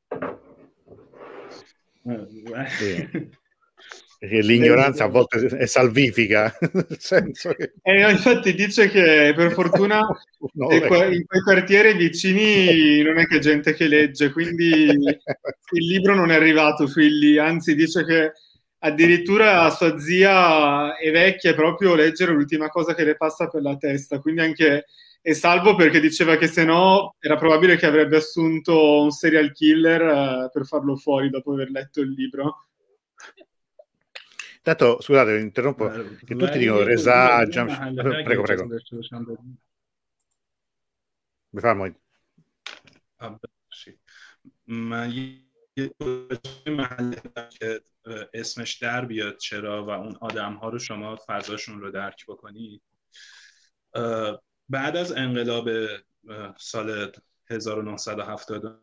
L'ignoranza a volte è salvifica, nel senso che... infatti dice che per fortuna in quei quartieri vicini non è che gente che legge, quindi il libro non è arrivato fin lì, anzi dice che addirittura sua zia è vecchia e proprio leggere è l'ultima cosa che le passa per la testa, quindi anche è salvo perché diceva che se no era probabile che avrebbe assunto un serial killer per farlo fuori dopo aver letto il libro. Tanto, scusate, interrompo, che tutti dicono Reza, prego. بفرمایید. من یه محله که اسمش در بیاد چرا و اون آدم‌ها رو شما فضاشون رو درک بکنید. بعد از انقلاب سال 1970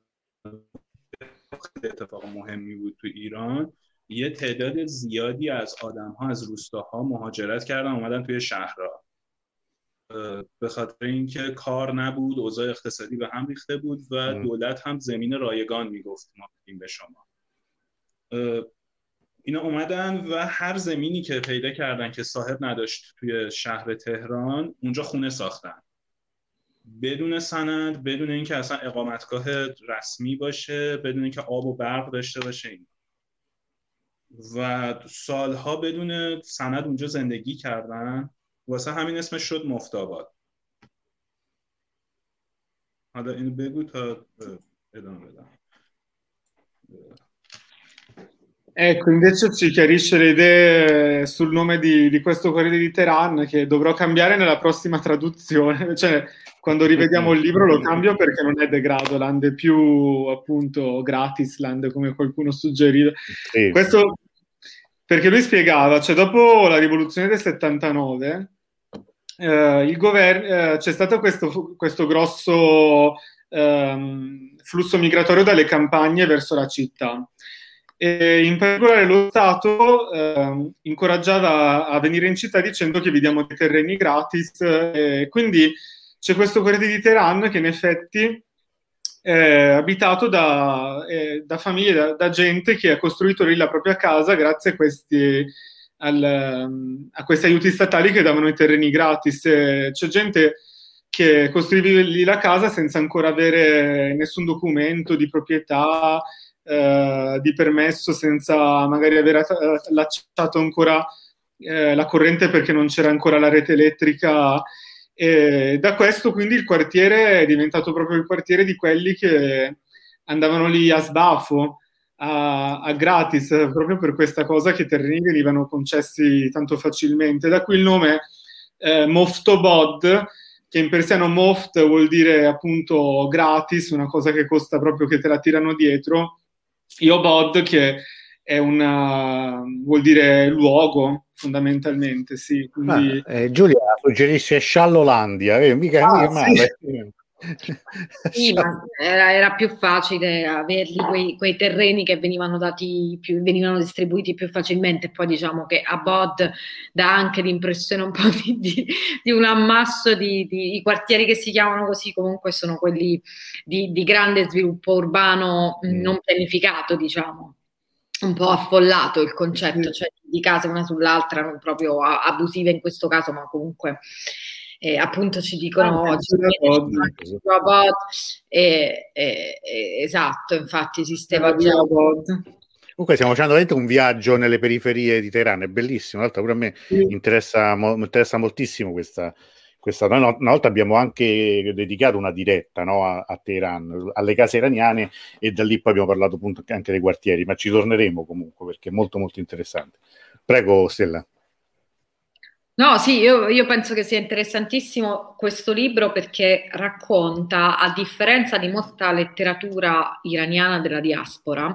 اتفاق مهمی بود تو ایران، یه تعداد زیادی از آدم‌ها از روستاها مهاجرت کردن اومدن توی شهرها، به خاطر اینکه کار نبود، اوضاع اقتصادی به هم ریخته بود و دولت هم زمین رایگان میگفت ما بدیم به شما. اینا اومدن و هر زمینی که پیدا کردن که صاحب نداشت توی شهر تهران، اونجا خونه ساختن بدون سند، بدون اینکه اصلا اقامتگاه رسمی باشه، بدون اینکه آب و برق داشته باشه این. و سالها بدون سند اونجا زندگی کردن، واسه همین اسمش شد مفتاباد. حالا اینو بگو تا ادامه بدم. Ecco, invece ci chiarisce le idee sul nome di questo quartiere di Teheran, che dovrò cambiare nella prossima traduzione, cioè quando rivediamo il libro lo cambio perché non è Degradoland, è più appunto Gratisland come qualcuno suggeriva. Sì. Questo perché lui spiegava, cioè dopo la rivoluzione del 79 il governo c'è stato questo grosso flusso migratorio dalle campagne verso la città. E in particolare lo Stato incoraggiava a venire in città dicendo che vi diamo dei terreni gratis, e quindi c'è questo quartiere di Teheran che in effetti è abitato da famiglie, da gente che ha costruito lì la propria casa grazie a questi aiuti statali che davano i terreni gratis. C'è gente che costruiva lì la casa senza ancora avere nessun documento di proprietà, di permesso, senza magari aver allacciato ancora la corrente perché non c'era ancora la rete elettrica, E da questo quindi il quartiere è diventato proprio il quartiere di quelli che andavano lì a sbafo, a gratis, proprio per questa cosa che i terreni venivano concessi tanto facilmente. Da qui il nome Moftobod, che in persiano Moft vuol dire appunto gratis, una cosa che costa proprio, che te la tirano dietro. Iobod, che è vuol dire luogo, fondamentalmente, sì. Quindi... Giulia suggerisce Sciallolandia, mica male. Sì. Sì, ma era più facile averli quei terreni che venivano venivano distribuiti più facilmente. Poi diciamo che a Bod dà anche l'impressione un po' di un ammasso di i quartieri che si chiamano così, comunque sono quelli di grande sviluppo urbano non pianificato, diciamo. Un po' affollato il concetto, cioè di case una sull'altra, non proprio abusive in questo caso, ma comunque appunto ci dicono oggi esatto, infatti esisteva già. Comunque stiamo facendo veramente un viaggio nelle periferie di Teheran, è bellissimo, in realtà pure a me interessa moltissimo questa. Una volta abbiamo anche dedicato una diretta, no, a Teheran, alle case iraniane, e da lì poi abbiamo parlato appunto anche dei quartieri, ma ci torneremo comunque perché è molto molto interessante. Prego Stella. No, sì, io penso che sia interessantissimo questo libro perché racconta, a differenza di molta letteratura iraniana della diaspora,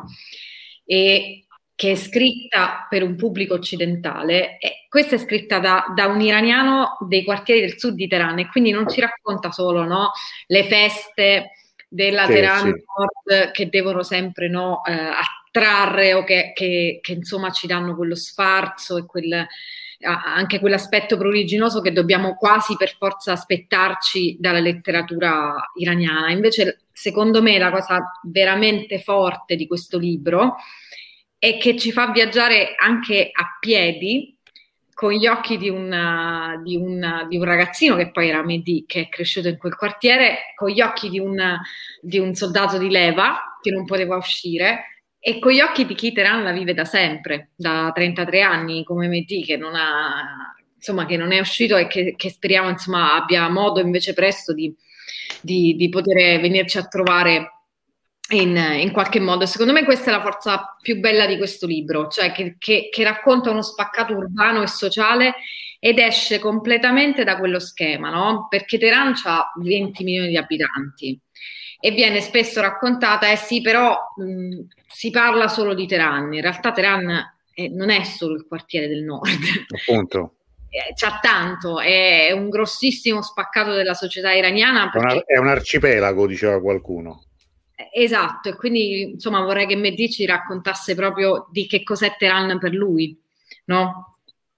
e che è scritta per un pubblico occidentale, e questa è scritta da un iraniano dei quartieri del sud di Teheran, e quindi non ci racconta solo, no, le feste della Teheran Nord che devono sempre, no, attrarre, o che insomma ci danno quello sfarzo e anche quell'aspetto pruriginoso che dobbiamo quasi per forza aspettarci dalla letteratura iraniana. Invece, secondo me, la cosa veramente forte di questo libro è che ci fa viaggiare anche a piedi con gli occhi di un ragazzino che poi era Mehdi, che è cresciuto in quel quartiere, con gli occhi di un soldato di leva che non poteva uscire, e con gli occhi di chi Teheran la vive da sempre, da 33 anni, come Mehdi, che non è uscito, e che speriamo insomma abbia modo invece presto di poter venirci a trovare in qualche modo. Secondo me questa è la forza più bella di questo libro, cioè che racconta uno spaccato urbano e sociale ed esce completamente da quello schema, no? Perché Teheran ha 20 milioni di abitanti e viene spesso raccontata, sì, però si parla solo di Teheran. In realtà Teheran non è solo il quartiere del nord. Appunto. C'ha tanto, è un grossissimo spaccato della società iraniana. È un arcipelago, diceva qualcuno. Esatto, e quindi insomma vorrei che Mehdi ci raccontasse proprio di che cos'è Teheran per lui, no?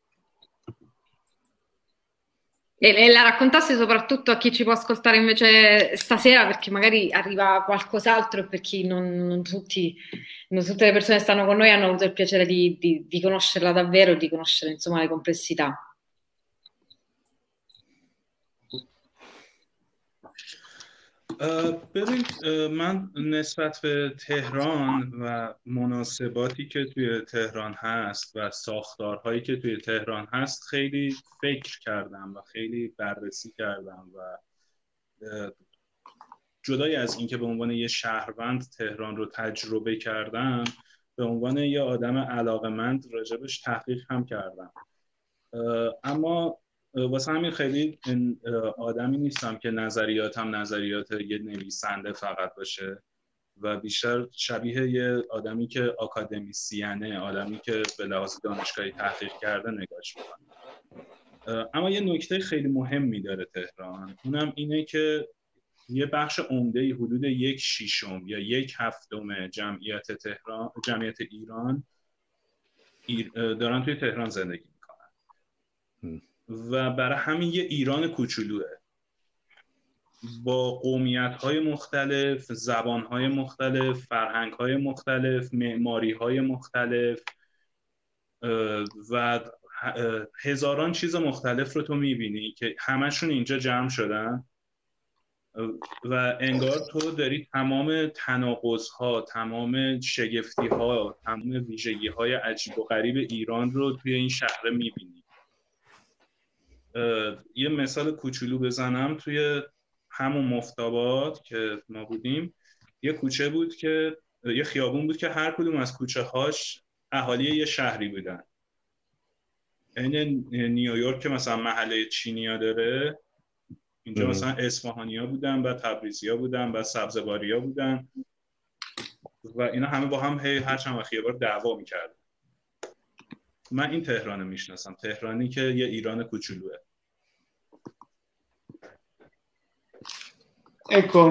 E la raccontasse soprattutto a chi ci può ascoltare invece stasera, perché magari arriva qualcos'altro, e per chi non tutte le persone che stanno con noi hanno avuto il piacere di conoscerla davvero, di conoscere insomma le complessità. ببین من نسبت به تهران و مناسباتی که توی تهران هست و ساختارهایی که توی تهران هست خیلی فکر کردم و خیلی بررسی کردم و جدای از اینکه به عنوان یه شهروند تهران رو تجربه کردم، به عنوان یه آدم علاقه‌مند راجبش تحقیق هم کردم. اما واسه همین خیلی آدمی نیستم که نظریاتم نظریات یه نویسنده فقط باشه و بیشتر شبیه یه آدمی که آکادمیسیانه، آدمی که به لحاظ دانشگاهی تحقیق کرده نگاش میکنه. اما یه نکته خیلی مهمی داره تهران، اونم اینه که یه بخش عمده‌ای، حدود 1/6 یا 1/7 جمعیت ایران دارن توی تهران زندگی میکنن و برای همین یه ایران کوچولوه با قومیت‌های مختلف، زبان‌های مختلف، فرهنگ‌های مختلف، معماری‌های مختلف و هزاران چیز مختلف رو تو می‌بینی که همشون اینجا جمع شدن و انگار تو داری تمام تناقض‌ها، تمام شگفتی‌ها، تمام ویژگی‌های عجیب و غریب ایران رو توی این شهر می‌بینی. یه مثال کوچولو بزنم، توی همون مفتاباد که ما بودیم یه کوچه بود که یه خیابون بود که هر کدوم از کوچه هاش اهالی یه شهری بودن. این نیویورک که مثلا محله چینیا داره، اینجا مثلا اصفهانیا بودن، بعد تبریزیا بودن، بعد سبزواریا بودن و اینا همه با هم هر چند وقت یه بار دعوا میکردن. من این تهران میشناسم، تهرانی che یه ایران کوچولوه. Ecco.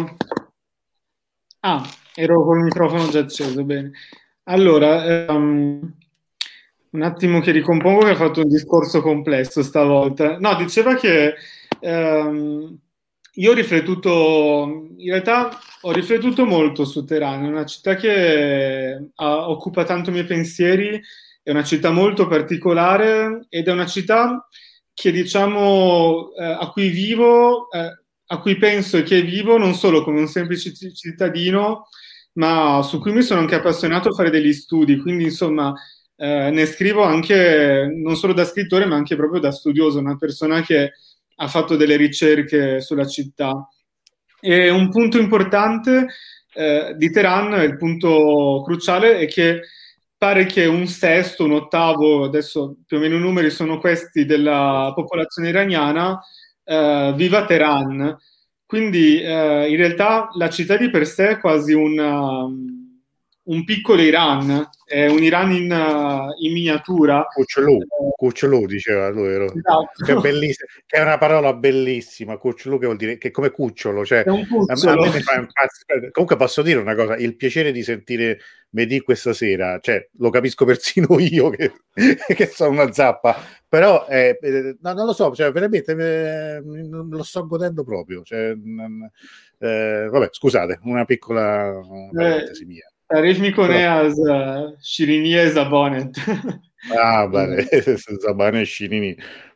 Ero col microfono già acceso, bene. Allora, un attimo che ricompongo, che ha fatto un discorso complesso stavolta. No, diceva che io ho riflettuto, in realtà ho riflettuto molto su Teheran, è una città che occupa tanto i miei pensieri, è una città molto particolare ed è una città che, diciamo, a cui vivo, a cui penso e che vivo non solo come un semplice cittadino, ma su cui mi sono anche appassionato a fare degli studi, quindi insomma ne scrivo anche non solo da scrittore ma anche proprio da studioso, una persona che ha fatto delle ricerche sulla città. E un punto importante di Teheran, il punto cruciale, è che pare che un sesto, un ottavo, adesso più o meno i numeri sono questi, della popolazione iraniana viva a Teheran. Quindi in realtà la città di per sé è quasi un piccolo Iran, è un Iran in miniatura. Cucciolù diceva lui, esatto. Che è bellissimo, che è una parola bellissima, cucciolù, che vuol dire che come cucciolo, cioè a me mi fa impazzire. Comunque posso dire una cosa, il piacere di sentire Mehdi questa sera, cioè lo capisco persino io che sono una zappa, però no, non lo so, cioè veramente lo sto godendo proprio, cioè, vabbè, scusate, una piccola parentesi mia. تعریف میکنه از شیرینی زبانت. Bene, Zabane Scirini.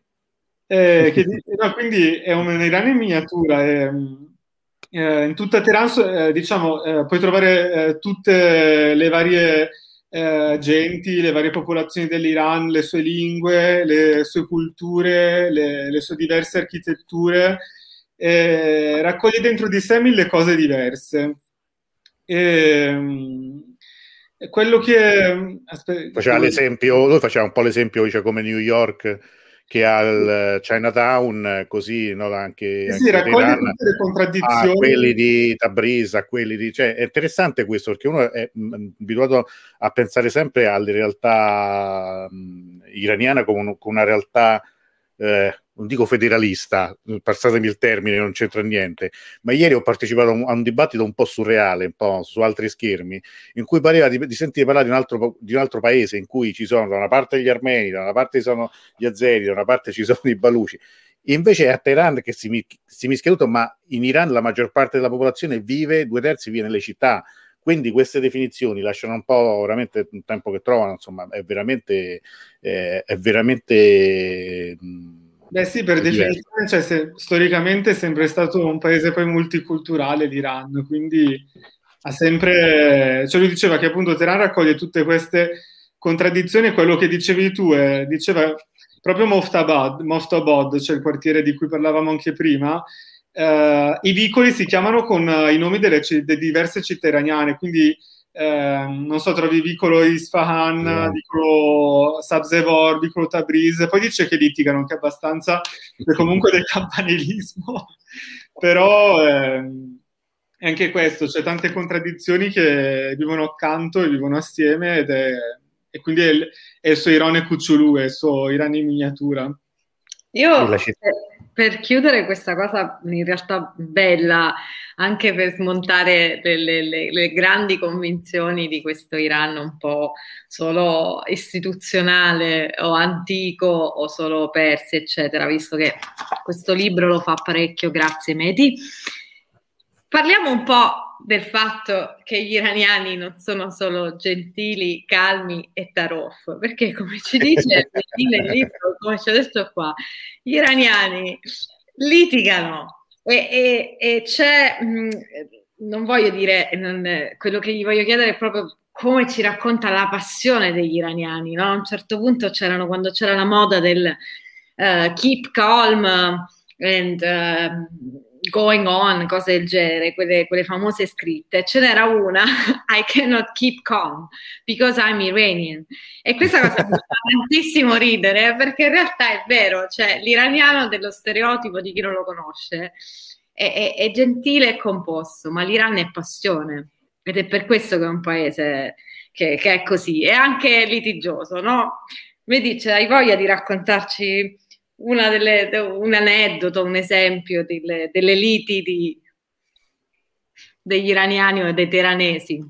Quindi è un Iran in miniatura. In tutta Teheran, diciamo, puoi trovare tutte le varie genti, le varie popolazioni dell'Iran, le sue lingue, le sue culture, le sue diverse architetture. Raccoglie dentro di sé mille cose diverse. Quello che faceva l'esempio, lui faceva un po' l'esempio, cioè, come New York che ha il Chinatown, così, no, anche raccoglie tutte le contraddizioni, a quelli di Tabriz, a quelli di, cioè è interessante questo, perché uno è abituato a pensare sempre alle realtà iraniane come una realtà non dico federalista, passatemi il termine, non c'entra niente, ma ieri ho partecipato a un dibattito un po' surreale, un po' su altri schermi, in cui pareva di sentire parlare di un altro paese in cui ci sono da una parte gli armeni, da una parte ci sono gli azeri, da una parte ci sono i baluci. Invece è a Teheran che si mischia tutto, ma in Iran la maggior parte della popolazione vive, 2/3 vive nelle città. Quindi queste definizioni lasciano un po' veramente un tempo che trovano, insomma, è veramente Beh sì, per definizione, cioè, storicamente è sempre stato un paese poi multiculturale l'Iran, quindi ha sempre, cioè lui diceva che appunto Teheran raccoglie tutte queste contraddizioni, e quello che dicevi tu, diceva proprio Moftabad, cioè il quartiere di cui parlavamo anche prima, i vicoli si chiamano con i nomi delle diverse città iraniane, quindi non so, trovi vicolo Isfahan, vicolo Sabzevor, vicolo Tabriz, poi dice che litigano anche abbastanza, è comunque del campanilismo, però è anche questo, c'è tante contraddizioni che vivono accanto e vivono assieme, e quindi è il suo Iran e Cucciolù, è il suo Iran in miniatura. Io per chiudere questa cosa in realtà bella, anche per smontare le grandi convinzioni di questo Iran un po' solo istituzionale o antico o solo persi, eccetera, visto che questo libro lo fa parecchio, grazie Mehdi. Parliamo un po' del fatto che gli iraniani non sono solo gentili, calmi e tarof, perché come ci dice nel libro, come ci ha detto qua, gli iraniani litigano e c'è, non voglio dire, quello che gli voglio chiedere è proprio come ci racconta la passione degli iraniani, no? A un certo punto quando c'era la moda del keep calm and going on, cose del genere, quelle famose scritte. Ce n'era una, I cannot keep calm because I'm Iranian. E questa cosa mi fa tantissimo ridere, perché in realtà è vero, cioè l'iraniano dello stereotipo di chi non lo conosce è gentile e composto, ma l'Iran è passione, ed è per questo che è un paese che è così, è anche litigioso, no? Vedi, hai voglia di raccontarci un aneddoto, un esempio delle liti degli iraniani o dei teheranesi?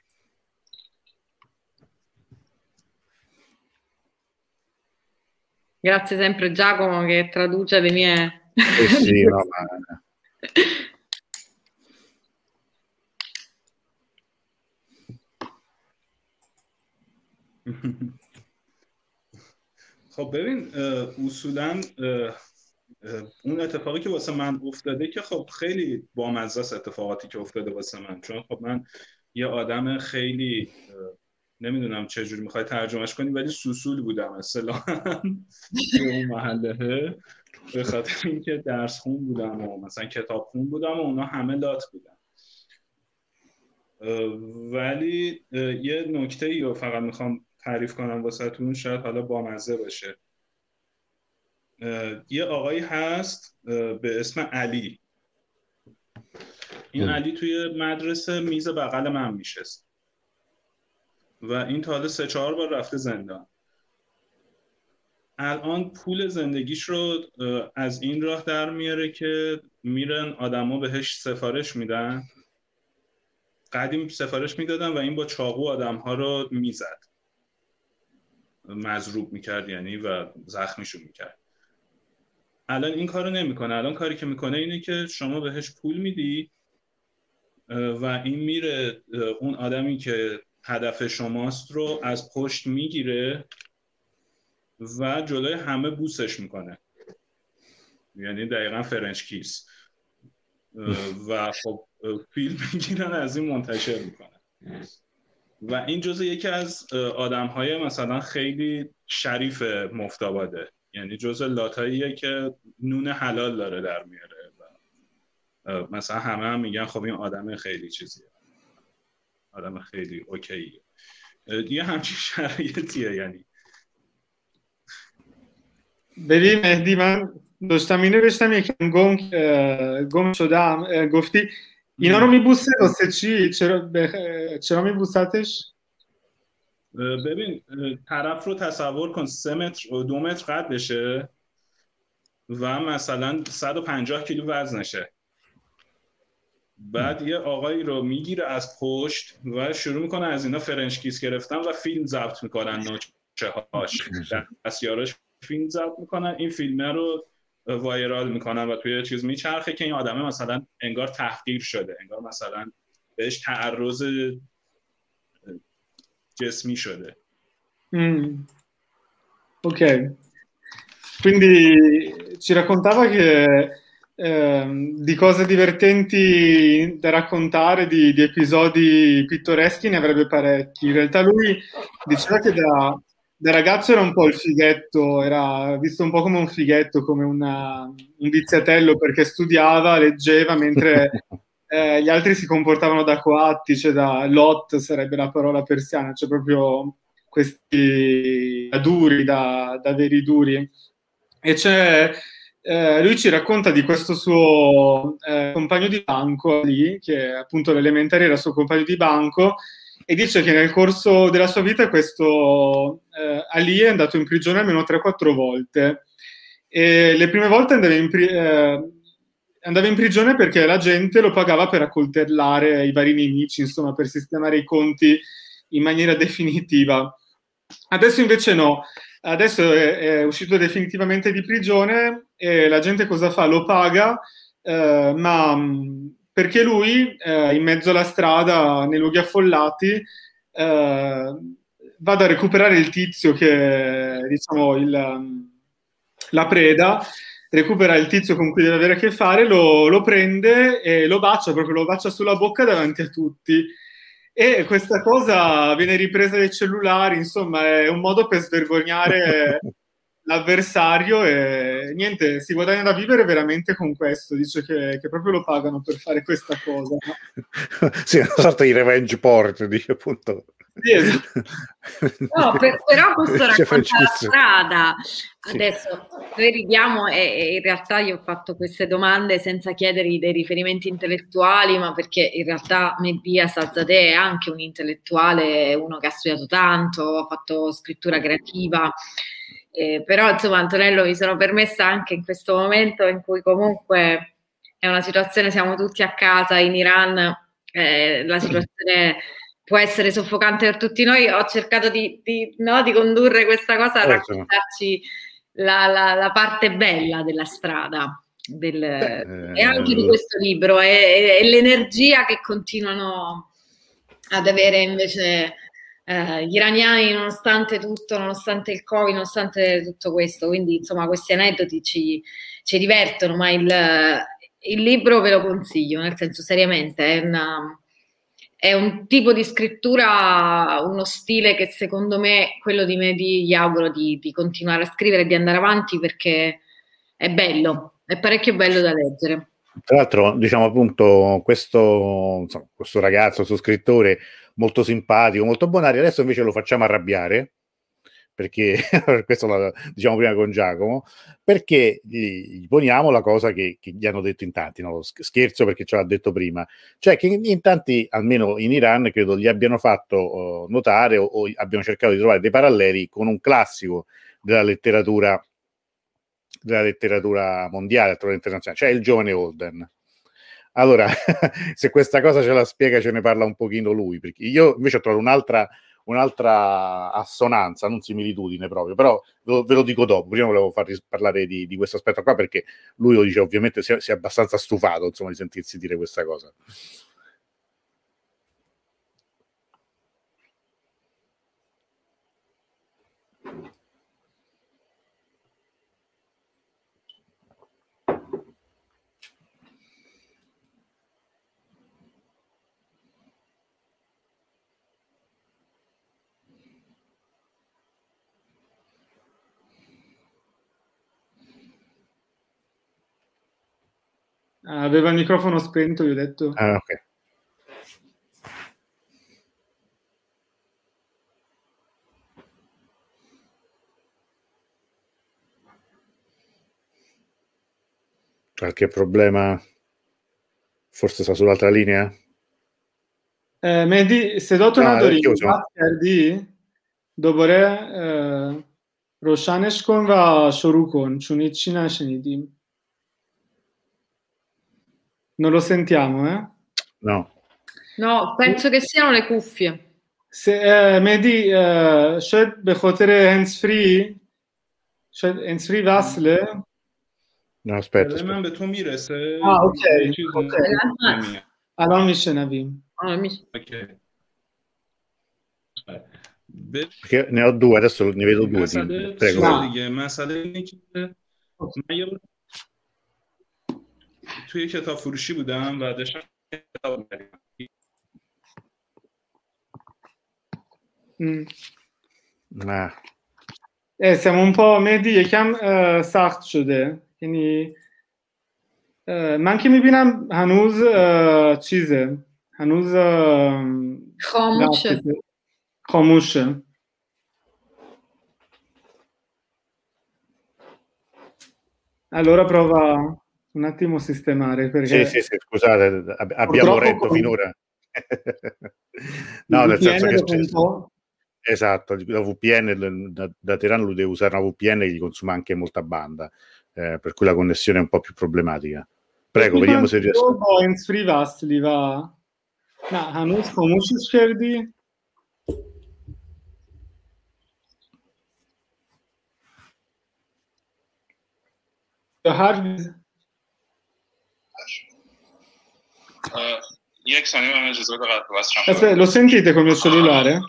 Grazie sempre Giacomo che traduce le mie... Sì, no, ma... خب ببین اصولا اون اتفاقی که واسه من افتاده که خب خیلی بامزه است اتفاقاتی که افتاده واسه من، چون خب من یه آدم خیلی نمیدونم چجوری میخوای ترجمهش کنی ولی سوسول بودم اصطلاحاً توی اون محله، به خاطر اینکه درس خون بودم و مثلا کتاب خون بودم و اونا همه لات بودن. ولی یه نکته‌ای رو فقط میخوام تعریف کنم واسهتون، شاید حالا بامزه باشه. یه آقایی هست به اسم علی. این علی توی مدرسه میز بغل من میشست و این تا حالا 3-4 بار رفته زندان. الان پول زندگیش رو از این راه در میاره که میرن آدما بهش سفارش میدن. قدیم سفارش میدادن و این با چاقو آدم‌ها رو میزد، مضروب میکرد یعنی و زخمیشون میکرد. الان این کارو نمیکنه. الان کاری که میکنه اینه که شما بهش پول میدی و این میره اون آدمی که هدف شماست رو از پشت میگیره و جلوی همه بوسش میکنه، یعنی دقیقاً فرنچ کیس، و خب فیلم میگیرن از این منتشر میکنن. و این جزء یکی از آدم‌های مثلا خیلی شریف مفتاباده، یعنی جزء لاتاییه که نون حلال داره در میاره و مثلا همه هم میگن خب این آدم خیلی چیزیه، آدم خیلی اوکیه. یه همچین شرایطیه. یعنی ببین مهدی، من داشتم این نوشتم یکم گم شدم. گفتی اینا رو میبوسه واسه چی؟ چرا میبوستش؟ ببین طرف رو تصور کن 3 متر و 2 متر قدشه و مثلا 150 کیلو وزنشه. بعد یه آقایی رو میگیره از پشت و شروع میکنه از اینا فرنچ کیس گرفتن و فیلم ضبط میکنن، نوچه هاش دستیاراش فیلم ضبط میکنن، این فیلمه رو وایرال میکنن و توی چیز میچرخه که این آدمه مثلا انگار تحقیر شده، انگار مثلا بهش تعرض جسمی شده. Ok, quindi ci raccontava che di cose divertenti da raccontare, di episodi pittoreschi ne avrebbe parecchi. In realtà lui diceva che da ragazzo era un po' il fighetto, era visto un po' come un fighetto, come un viziatello, perché studiava, leggeva, mentre gli altri si comportavano da coatti, cioè da lot sarebbe la parola persiana, cioè proprio questi da duri, da veri duri. E lui ci racconta di questo suo compagno di banco lì, che appunto l'elementare era suo compagno di banco, e dice che nel corso della sua vita questo Ali è andato in prigione almeno 3-4 volte. E le prime volte andava in prigione perché la gente lo pagava per accoltellare i vari nemici, insomma, per sistemare i conti in maniera definitiva. Adesso invece no, adesso è uscito definitivamente di prigione e la gente cosa fa? Lo paga, ma perché lui in mezzo alla strada, nei luoghi affollati, vada a recuperare il tizio che, diciamo, la preda, recupera il tizio con cui deve avere a che fare, lo prende e lo bacia, proprio lo bacia sulla bocca davanti a tutti. E questa cosa viene ripresa dai cellulari, insomma, è un modo per svergognare l'avversario e niente, si guadagna da vivere veramente con questo, dice che proprio lo pagano per fare questa cosa. Sì, una sorta di revenge porn, dice appunto. Sì, esatto. No, però questo racconta la strada. Adesso noi ridiamo e in realtà io ho fatto queste domande senza chiedergli dei riferimenti intellettuali, ma perché in realtà Mehdi Hasanzadeh è anche un intellettuale, uno che ha studiato tanto, ha fatto scrittura creativa. Però insomma, Antonello, mi sono permessa anche in questo momento in cui comunque è una situazione, siamo tutti a casa in Iran, la situazione può essere soffocante per tutti noi. Ho cercato di condurre questa cosa a raccontarci la parte bella della strada e anche di questo libro e l'energia che continuano ad avere invece gli iraniani nonostante tutto, nonostante il Covid, nonostante tutto questo. Quindi insomma questi aneddoti ci divertono, ma il libro ve lo consiglio, nel senso seriamente è un tipo di scrittura, uno stile che secondo me, quello di Mehdi, gli auguro di continuare a scrivere e di andare avanti perché è bello, è parecchio bello da leggere. Tra l'altro, diciamo appunto, questo ragazzo, questo scrittore molto simpatico, molto bonario, adesso invece lo facciamo arrabbiare, perché questo lo diciamo prima con Giacomo, perché gli poniamo la cosa che gli hanno detto in tanti, no? Scherzo perché ce l'ha detto prima, cioè che in tanti, almeno in Iran, credo gli abbiano fatto notare o abbiano cercato di trovare dei paralleli con un classico della letteratura mondiale, internazionale, cioè il giovane Holden. Allora, se questa cosa ce la spiega, ce ne parla un pochino lui, perché io invece ho trovato un'altra assonanza, non similitudine proprio, però ve lo dico dopo. Prima volevo farvi parlare di questo aspetto qua, perché lui lo dice, ovviamente si è abbastanza stufato, insomma, di sentirsi dire questa cosa. Aveva il microfono spento, gli ho detto. Ah, ok. Qualche problema? Forse sta sull'altra linea? مهدی صداتو نداری بحث کردی دوباره روشنش کن و شروع کن چون هیچی نشنیدیم. Non lo sentiamo, eh? No, penso che siano le cuffie. مهدی شاید به خاطر هندزفری وصله. No, aspetta. من به تو میرسه. اوکی. الان میشنویم. Perché ne ho due, adesso ne vedo due. Prego. مسئله اینه که من توی کتاب فروشی بودم و داشتم کتاب siamo un po' مهدی یکم سخت شده، یعنی من که میبینم هنوز چیزه، هنوز خاموشه. Allora prova un attimo a sistemare perché sì, scusate, abbiamo retto finora. No, nel senso che esatto, la VPN da Teheran lui deve usare una VPN che gli consuma anche molta banda, per cui la connessione è un po' più problematica. Prego, vediamo se riesco. با هندزفری وصلی و نه هنوز خاموشش کردی؟ یک ثانیه من اجازه بده قطع وصل lo sentite con il mio cellulare?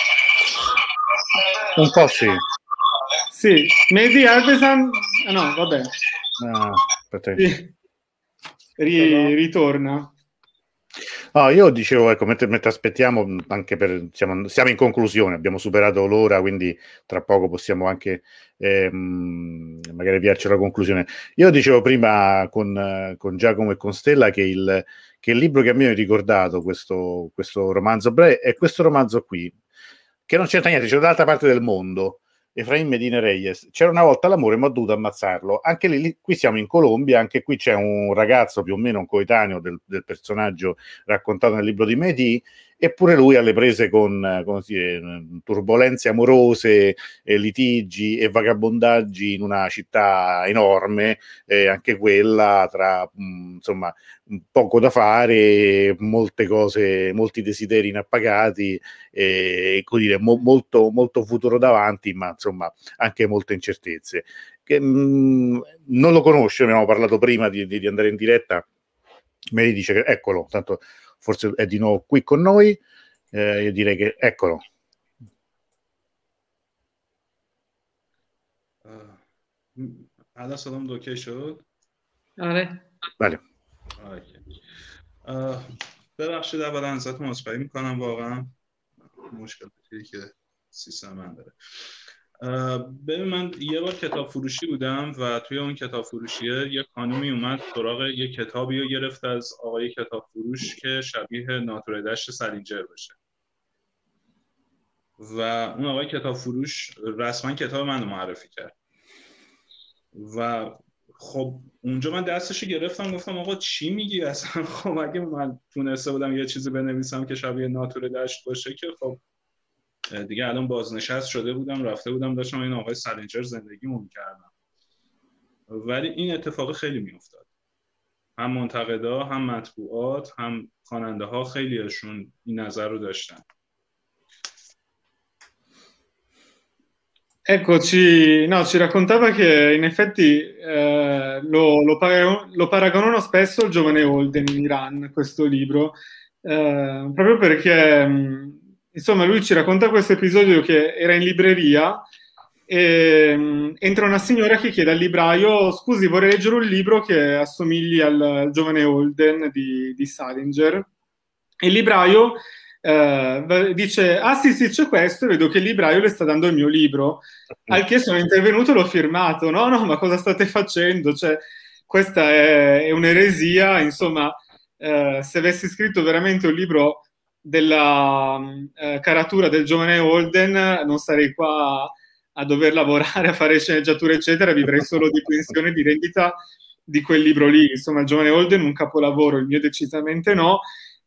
Un po' sì. Sì, Mehdi Alvesan no, vabbè. No, ritorna. Io dicevo, ecco, mentre aspettiamo, anche siamo in conclusione, abbiamo superato l'ora, quindi tra poco possiamo anche magari avviarci alla conclusione. Io dicevo prima con Giacomo e con Stella che il libro che a me mi ha ricordato questo romanzo breve è questo romanzo qui, che non c'entra niente, c'è dall'altra parte del mondo. Efraim Medina Reyes, c'era una volta l'amore ma ho dovuto ammazzarlo. Anche lì, qui siamo in Colombia, anche qui c'è un ragazzo più o meno un coetaneo del personaggio raccontato nel libro di Mehdi, eppure lui alle prese con turbolenze amorose, litigi e vagabondaggi in una città enorme, anche quella tra insomma poco da fare, molte cose, molti desideri inappagati, molto, molto futuro davanti, ma insomma anche molte incertezze. Non lo conosce, abbiamo parlato prima di andare in diretta, mi dice che eccolo, tanto forse è di nuovo qui con noi, io direi che eccolo. الان صدام دوکه شد؟ آره بله. ببخشید اولا ازتون عذرخواهی میکنم، واقعا مشکلاتی که سیستم من داره. ببین من یه بار کتاب فروشی بودم و توی اون کتاب فروشیه یه خانومی اومد سراغ یه کتابی رو گرفت از آقای کتاب فروش که شبیه ناتور دشت سالینجر باشه و اون آقای کتاب فروش رسما کتاب منو معرفی کرد و خب اونجا من دستشو گرفتم گفتم آقا چی میگی اصلا؟ خب اگه من تونسته بودم یه چیزی بنویسم که شبیه ناتور دشت باشه که خب دیگه الان بازنشست شده بودم، رفته بودم داشتم این آقای سالینجر زندگیمو میکردم. ولی این اتفاق خیلی میافتاد، هم منتقدا هم مطبوعات هم خواننده ها خیلیشون این نظر رو داشتن. Ecco, ci raccontava che in effetti lo paragonano spesso al giovane Holden in Iran, questo libro, proprio perché insomma lui ci racconta questo episodio che era in libreria e entra una signora che chiede al libraio: scusi, vorrei leggere un libro che assomigli al giovane Holden di Salinger. E il libraio dice: ah sì c'è questo, e vedo che il libraio le sta dando il mio libro, al che sono intervenuto e l'ho firmato. No, ma cosa state facendo? Cioè, questa è un'eresia, insomma. Se avessi scritto veramente un libro della caratura del giovane Holden, non sarei qua a dover lavorare, a fare sceneggiature eccetera, vivrei solo di pensione, di rendita di quel libro lì. Insomma, il giovane Holden un capolavoro, il mio decisamente no.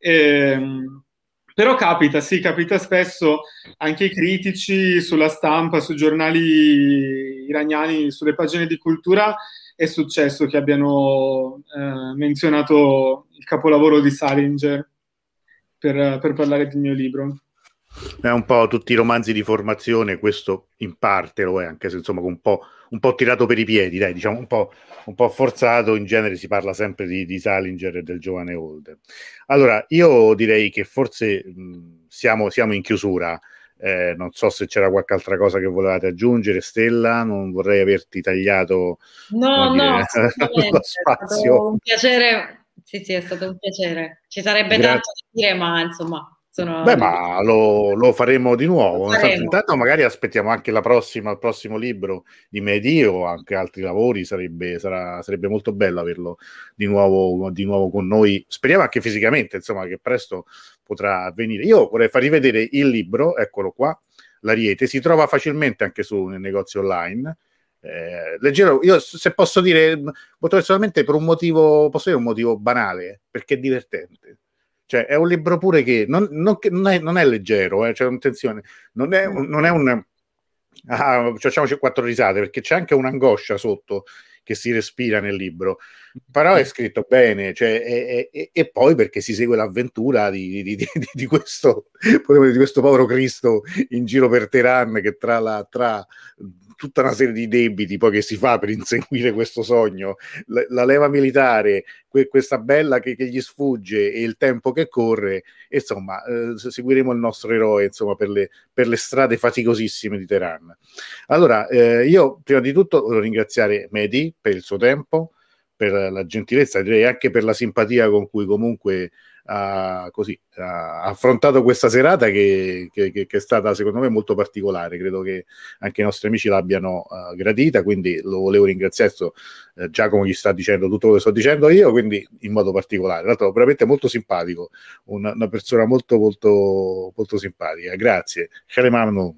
Però capita spesso anche ai critici, sulla stampa, sui giornali iraniani, sulle pagine di cultura, è successo che abbiano menzionato il capolavoro di Salinger per parlare del mio libro. È un po' tutti i romanzi di formazione, questo in parte lo è, anche se insomma un po' tirato per i piedi, dai, diciamo un po' forzato. In genere si parla sempre di Salinger e del giovane Holden. Allora, io direi che forse siamo in chiusura. Non so se c'era qualche altra cosa che volevate aggiungere, Stella, non vorrei averti tagliato lo spazio. È stato un piacere. Sì, è stato un piacere. Ci sarebbe tanto da dire, ma insomma ma lo faremo di nuovo. Intanto magari aspettiamo anche il prossimo libro di Mehdi o anche altri lavori. Sarebbe molto bello averlo di nuovo con noi. Speriamo anche fisicamente, insomma, che presto potrà avvenire. Io vorrei farvi vedere il libro, eccolo qua, l'Ariete, si trova facilmente anche nel negozio online. Leggerò, io se posso dire molto personalmente, per un motivo, posso dire un motivo banale, perché è divertente. Cioè è un libro pure che non è leggero, cioè attenzione, non è un facciamoci 4 risate, perché c'è anche un'angoscia sotto che si respira nel libro, però è scritto bene, cioè, e poi perché si segue l'avventura di questo povero Cristo in giro per Teheran, che tra tutta una serie di debiti poi che si fa per inseguire questo sogno, la leva militare, questa bella che gli sfugge e il tempo che corre, insomma seguiremo il nostro eroe, insomma, per le strade faticosissime di Teheran. Allora io prima di tutto voglio ringraziare Mehdi per il suo tempo, per la gentilezza, direi anche per la simpatia con cui comunque ha affrontato questa serata che è stata secondo me molto particolare. Credo che anche i nostri amici l'abbiano gradita, quindi lo volevo ringraziare. Giacomo gli sta dicendo tutto quello che sto dicendo io, quindi in modo particolare. Tra l'altro veramente molto simpatico, una persona molto molto molto simpatica. Grazie. خیلی ممنون.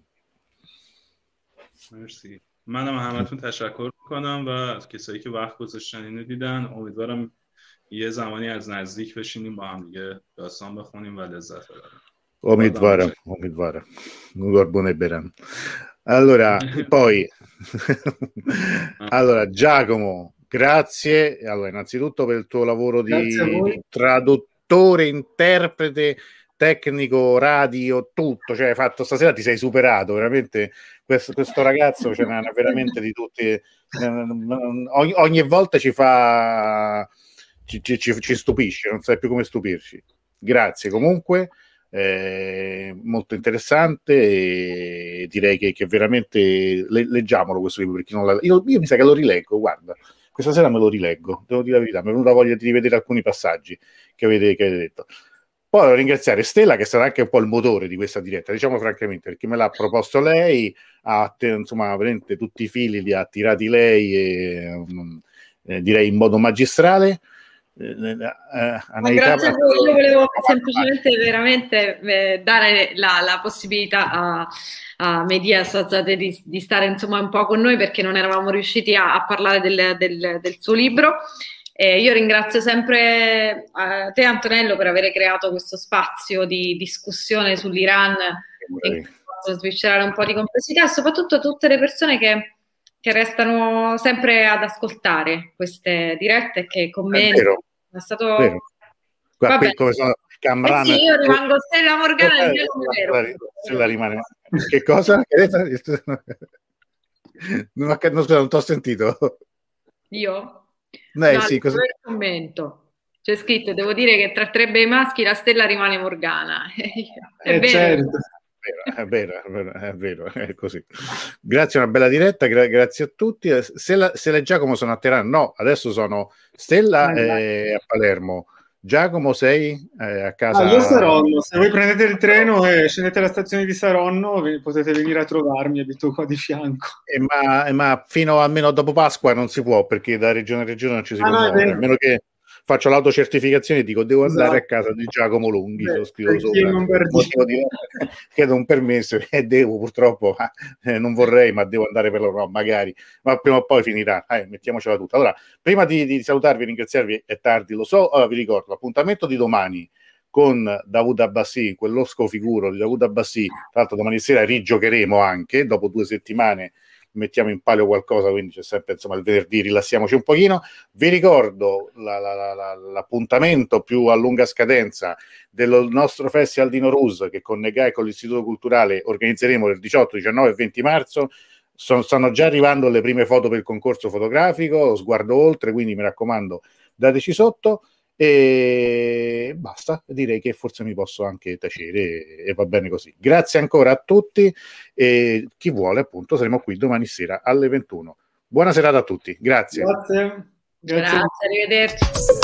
مرسی. منم همتون تشکر میکنم و کسایی که وقت گذاشتن اینو دیدن. امیدوارم یه زمانی از نزدیک بشینیم با هم دیگه داستان بخونیم و لذت ببریم. امیدوارم. Gorbone Beran. Allora, poi allora Giacomo, grazie. Allora, innanzitutto per il tuo lavoro di traduttore, interprete, tecnico, radio, tutto, cioè hai fatto stasera, ti sei superato veramente. Questo ragazzo ce n'ha veramente di tutti, ogni volta ci fa ci stupisce, non sai più come stupirci. Grazie comunque, molto interessante, e direi che veramente leggiamolo questo libro, perché non io mi sa che lo rileggo, guarda, questa sera me lo rileggo, devo dire la verità, mi è venuta voglia di rivedere alcuni passaggi che avete detto. Poi devo ringraziare Stella, che è stata anche un po' il motore di questa diretta, diciamo francamente, perché me l'ha proposto lei, insomma, veramente tutti i fili li ha tirati lei, e direi in modo magistrale. Grazie a voi, io volevo semplicemente veramente dare la possibilità a Mehdi Assadzadeh di stare insomma un po' con noi, perché non eravamo riusciti a parlare del suo libro. Io ringrazio sempre te, Antonello, per aver creato questo spazio di discussione sull'Iran e sviscerare un po' di complessità, e soprattutto tutte le persone che restano sempre ad ascoltare queste dirette e che commentano. È stato qua qui come sono Camran, sì, io rimango Stella Morgana Stella rimane. Che cosa? Non t'ho sentito. Io? Sì, cosa... commento. C'è scritto, devo dire che tra tre bei maschi la Stella rimane Morgana. È vero. Certo. È vero, è così. Grazie, una bella diretta, grazie a tutti. Stella e Giacomo sono a Teheran? No, adesso sono Stella a Palermo. Giacomo sei a casa? Io Saronno, se voi prendete il treno e scendete alla stazione di Saronno potete venire a trovarmi, abito qua di fianco. Ma fino almeno dopo Pasqua non si può, perché da regione a regione non ci si può muovere, a meno che faccio l'autocertificazione e dico devo andare a casa di Giacomo Lunghi, lo scrivo sopra, chiedo un permesso e devo, purtroppo non vorrei, ma devo andare per loro, no, magari, ma prima o poi finirà, mettiamocela tutta. Allora, prima di salutarvi e ringraziarvi, è tardi, lo so, vi ricordo l'appuntamento di domani con Dawood Abbassi, quell'osco figuro di Dawood Abbassi. Tra l'altro domani sera rigiocheremo anche, dopo 2 settimane mettiamo in palio qualcosa, quindi c'è sempre, insomma, il venerdì rilassiamoci un pochino. Vi ricordo l'appuntamento più a lunga scadenza del nostro festival di Nowruz, che con Negai e con l'Istituto Culturale organizzeremo il 18, 19 e 20 marzo. Stanno già arrivando le prime foto per il concorso fotografico, Sguardo Oltre, quindi mi raccomando, dateci sotto. E basta, direi che forse mi posso anche tacere e va bene così. Grazie ancora a tutti, e chi vuole, appunto, saremo qui domani sera alle 21. Buona serata a tutti, grazie. Grazie, arrivederci.